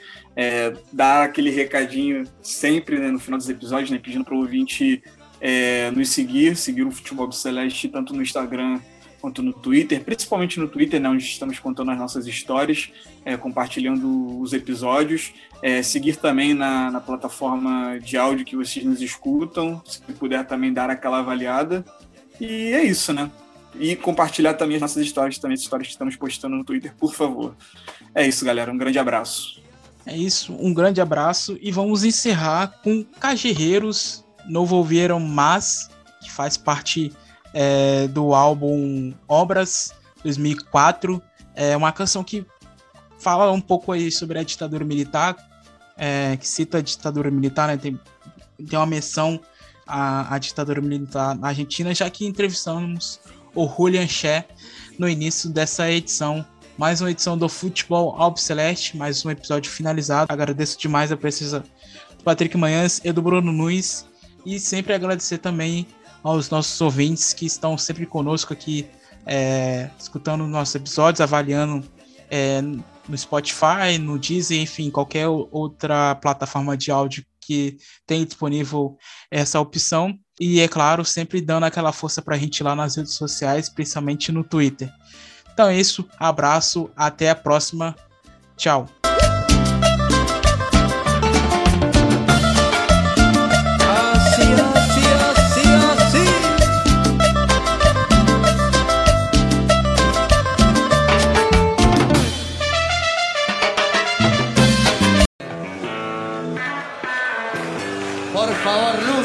dar aquele recadinho sempre, né, no final dos episódios, né, pedindo para o ouvinte nos seguir o Futebol Celeste, tanto no Instagram quanto no Twitter, principalmente no Twitter, né, onde estamos contando as nossas histórias, compartilhando os episódios, seguir também na plataforma de áudio que vocês nos escutam, se puder também dar aquela avaliada, e é isso, né? E compartilhar também as nossas histórias, também as histórias que estamos postando no Twitter, por favor. É isso, galera. Um grande abraço. É isso, um grande abraço. E vamos encerrar com Cajerreiros, Novo Ouviram Mas, que faz parte do álbum Obras, 2004. É uma canção que fala um pouco aí sobre a ditadura militar, que cita a ditadura militar, né? Tem uma menção à ditadura militar na Argentina, já que entrevistamos o Julian Che no início dessa edição. Mais uma edição do Futebol Albiceleste, mais um episódio finalizado. Agradeço demais a presença do Patrick Manhães e do Bruno Nunes, e sempre agradecer também aos nossos ouvintes que estão sempre conosco aqui, escutando nossos episódios, avaliando no Spotify, no Deezer, enfim, qualquer outra plataforma de áudio que tem disponível essa opção. E, é claro, sempre dando aquela força pra gente lá nas redes sociais, principalmente no Twitter. Então é isso, abraço, até a próxima, tchau. Por favor,